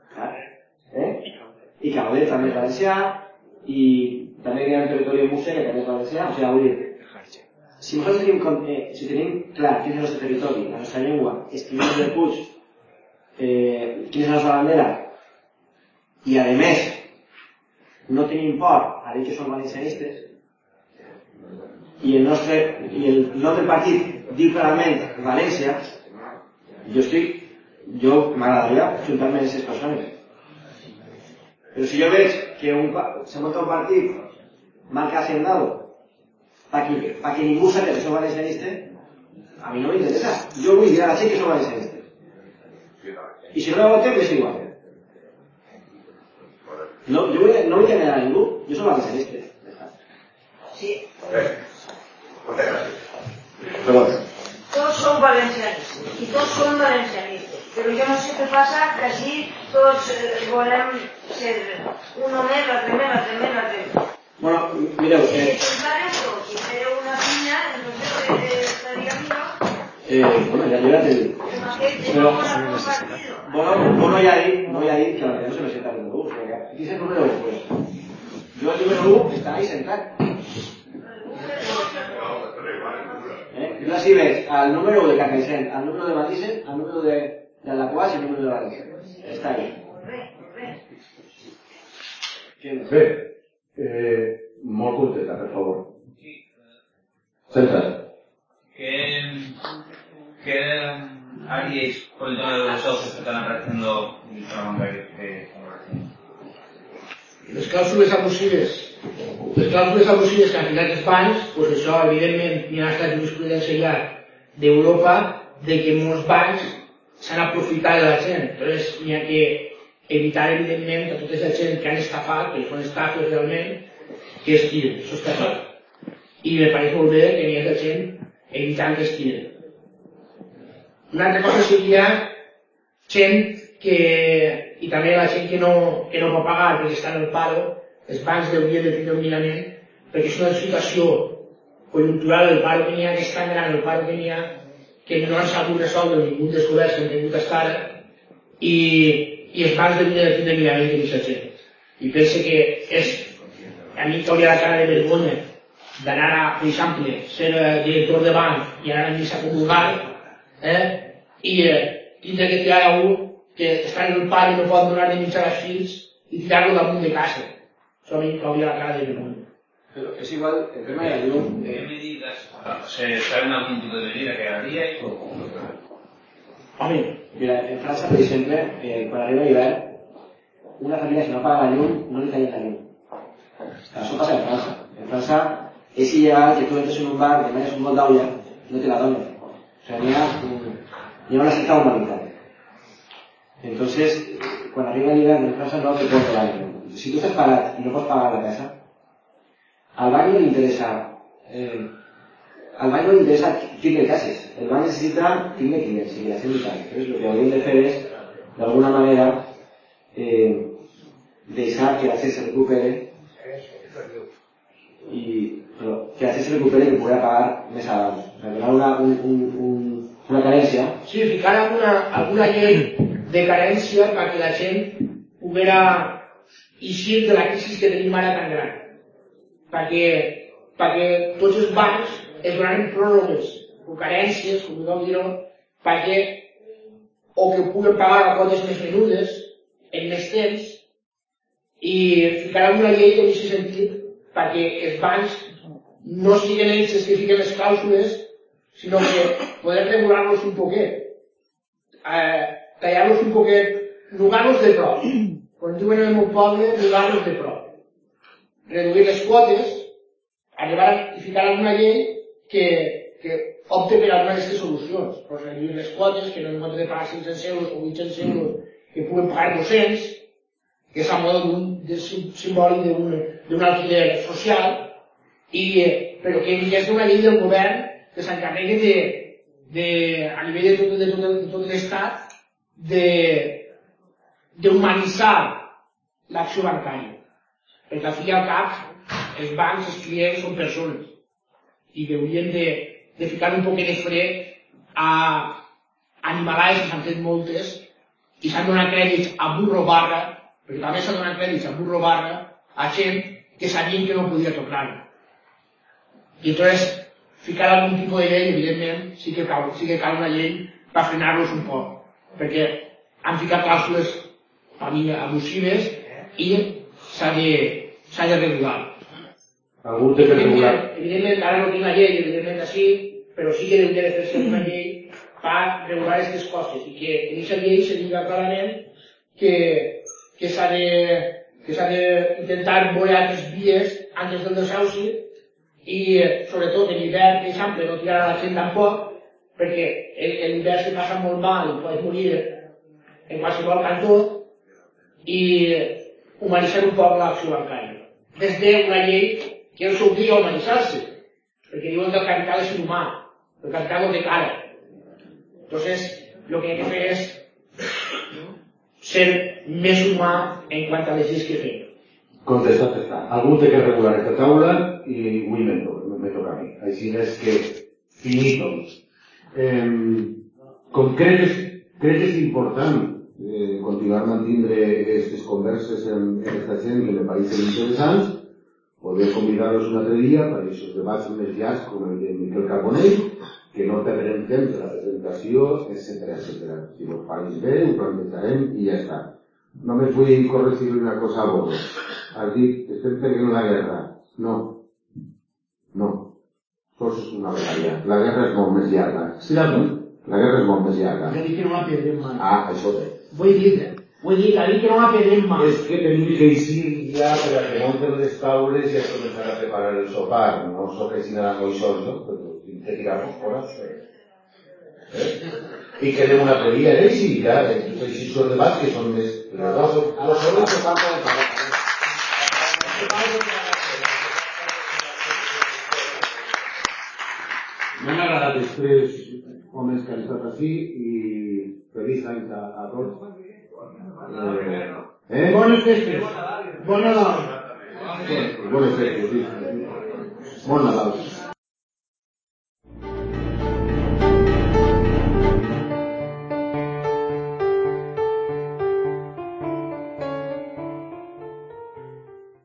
Y Caudet también es valencià, y también hay un territorio de Murcia que también es valencià, o sea, si nosotros tenim clar quin és el nostre territori, la nostra llengua, escrivim del Puig, quina és la nostra bandera, i a més no tenim por a dir que som valencianistes, i el nom del partit diu clarament València, jo m'agradaria juntar-me amb aquestes persones. Però si jo veig que se munta un partit marca hacendado para que ningú sàpiga que som valencianistes, a mi no m'interessa. Jo vull dir a la gent que som valencianistes. I si no me voten, m'és igual. No vull enganyar a ningú, jo som valencianista. Sí. Moltes gràcies. Perdón. Todos son valencianistas y todos son valencianistas, pero yo no sé qué pasa, que así todos volem ser uno més, l'altre més, l'altre més, l'altre més. Bueno, mireu... Si feu una pinya, no sé què estaria millor. Bueno, ja t'he dit. Però... Bono ja ha dit que no se me sienta el número 1. O sigui, aquí és el número 1, pues. Jo el número 1 està ahí sentat. Jo així veig el número 1 de Carcaixent, el número de Matisen, el número de Alaquàs i el número de València. Està ahí. Bé, molt contenta, favor. Centra. ¿Qué haríais con el tema de los socios que están apareciendo en el sistema bancario que estamos haciendo? Les clàusules abusives que han ficat els bancs, doncs això, evidentment, hi ha estat jurisprudència ja d'Europa de que molts bancs s'han aprofitat de la gent. Entonces, hi ha que evitar, evidentment, a tota aquesta gent que han estafat, que són estafes realment, que es tiren. Això està clar. I me pareix molt bé que hi ha gent evitant que es tiren. Una altra cosa seria gent que, i també la gent que no pot pagar perquè està en el paro, els bancs haurien de tindre un mirament, perquè és una situació conjuntural, el paro que n'hi ha, que és tan gran el paro que n'hi ha, que no han sabut resoldre ningú dels governs que han tingut fins ara, i els bancs haurien de tindre mirament de aquesta gent. I pense que és, a mi que hauria la cara de vergonya d'anar a, per exemple, ser director de banc i anar a missa a comulgar, i tindre que tirar a un que està en el pare i no pot donar de mitjar als fills i tirar-lo damunt de casa. Això a mi cauria la cara de vergonya. Pero es igual, el tema de la llum... ¿Qué medidas? ¿Saben algún tipo de medida que haríais? Home, mira, en Francia, per exemple, quan arriba l'hivern, una família, si no paga la llum, no li tallen la llum. Això passa en França. En França és il·legal que tu entres en un bar, demanes un bol d'aula, no te la donen. O sea, n'hi ha una certa humanitat. Entonces, quan arriba l'hivern en França no te pots pagar la llum. Si tu estàs parat i no pots pagar la casa, al banc no li interessa tindre cases. El banc necessita tindre clients i que la gent li pagui. Entonces, lo que hauríem de fer és, d'alguna manera, deixar que la gent se recupere que la gent se recupere i que pugui pagar més abans. O sigui, donar una carència. Sí, ficar alguna llei de carència perquè la gent poguera eixir de la crisi que tenim ara tan gran. Perquè tots els bancs es donaran pròrrogues o carències, com podem dir-ho, perquè o que puguen pagar a quotes més menudes en més temps i ficar alguna llei en aquest sentit perquè els bancs no siguin ells els que fiquen les clàusules, sinó que poder regular-los un poquet, tallar-los un poquet, nugar-los de prop. Quan diuen en el meu poble, nugar-los de prop. Reduir les quotes, arribar a ficar alguna llei que opte per alguna d'aquestes solucions. Pues reduir les quotes, que no en compte de pagar 500 euros o 800 euros, que puguen pagar 200, que és a modo simbòlic d'un alquiler social, però que hi hagi una llei del govern que s'encarregui a nivell de tot l'estat d'humanitzar l'acció bancària. Perquè al fi i al cap els bancs, els clients són persones i que haurien de ficar un poquet de fre a animalades que s'han fet moltes i s'han donat crèdits a burro barra, perquè també s'han donat crèdits a burro barra a gent que sabien que no podia tornar. I entonces ficar algun tipus de llei, evidentment, sí que cal una llei per frenar-los un poc, perquè han ficat clàusules per mi abusives i s'ha de regular. Algú té que regular? Evidentment, ara no tinc la llei, evidentment així, però sí que hauria de fer-se una llei per regular aquestes coses i que en aquesta llei se diga clarament que s'ha d'intentar veure altres vies antes del desahuci i sobretot en l'hivern, per exemple, no tirar a la gent tampoc, perquè l'hivern se passa molt mal i pots morir en qualsevol cantó i humanitzar un poc l'acció bancària. Des d'una llei que els obliga a humanitzar-se, perquè diuen que el capital és inhumà, el capital no té cara. Entonces, lo que hay que fer és ser més humà en quant a les lleis que fem. Contestat està. Algú té que regular esta taula i avui me toca a mi. Així és que finito. Com creus que és important continuar mantindre aquestes converses amb aquesta gent que me pareixen interessants, poder convidar-los un altre dia per aquests debats més llargs com el de Miquel Carbonell, que no perdrem temps de la presentació, etc. Si vos pareix bé, ho plantejarem i ja està. Només vull corregir una cosa a vos. Has dit, estem perdent la guerra. No. No. Això és una batalla. La guerra és molt més llarga. Sí, d'acord. La guerra és molt més llarga. Jo dic que no la perdem mai. Ah, això bé. Ho he dit, ha dit que no la perdem mai. És que tenim que eixir ja per a que munten les taules i a començar a preparar el sopar. No sóc així nada moixós, no? Però tinc que tirar-nos fora. I quedem una altre dia, sí, ja, així són debats que són més... Dos segons que falta de pagar. M'han agradat els tres homes que han estat així i feliç any a tots. Bones festes. Bon Nadal. Bones festes, sí. Bon Nadal.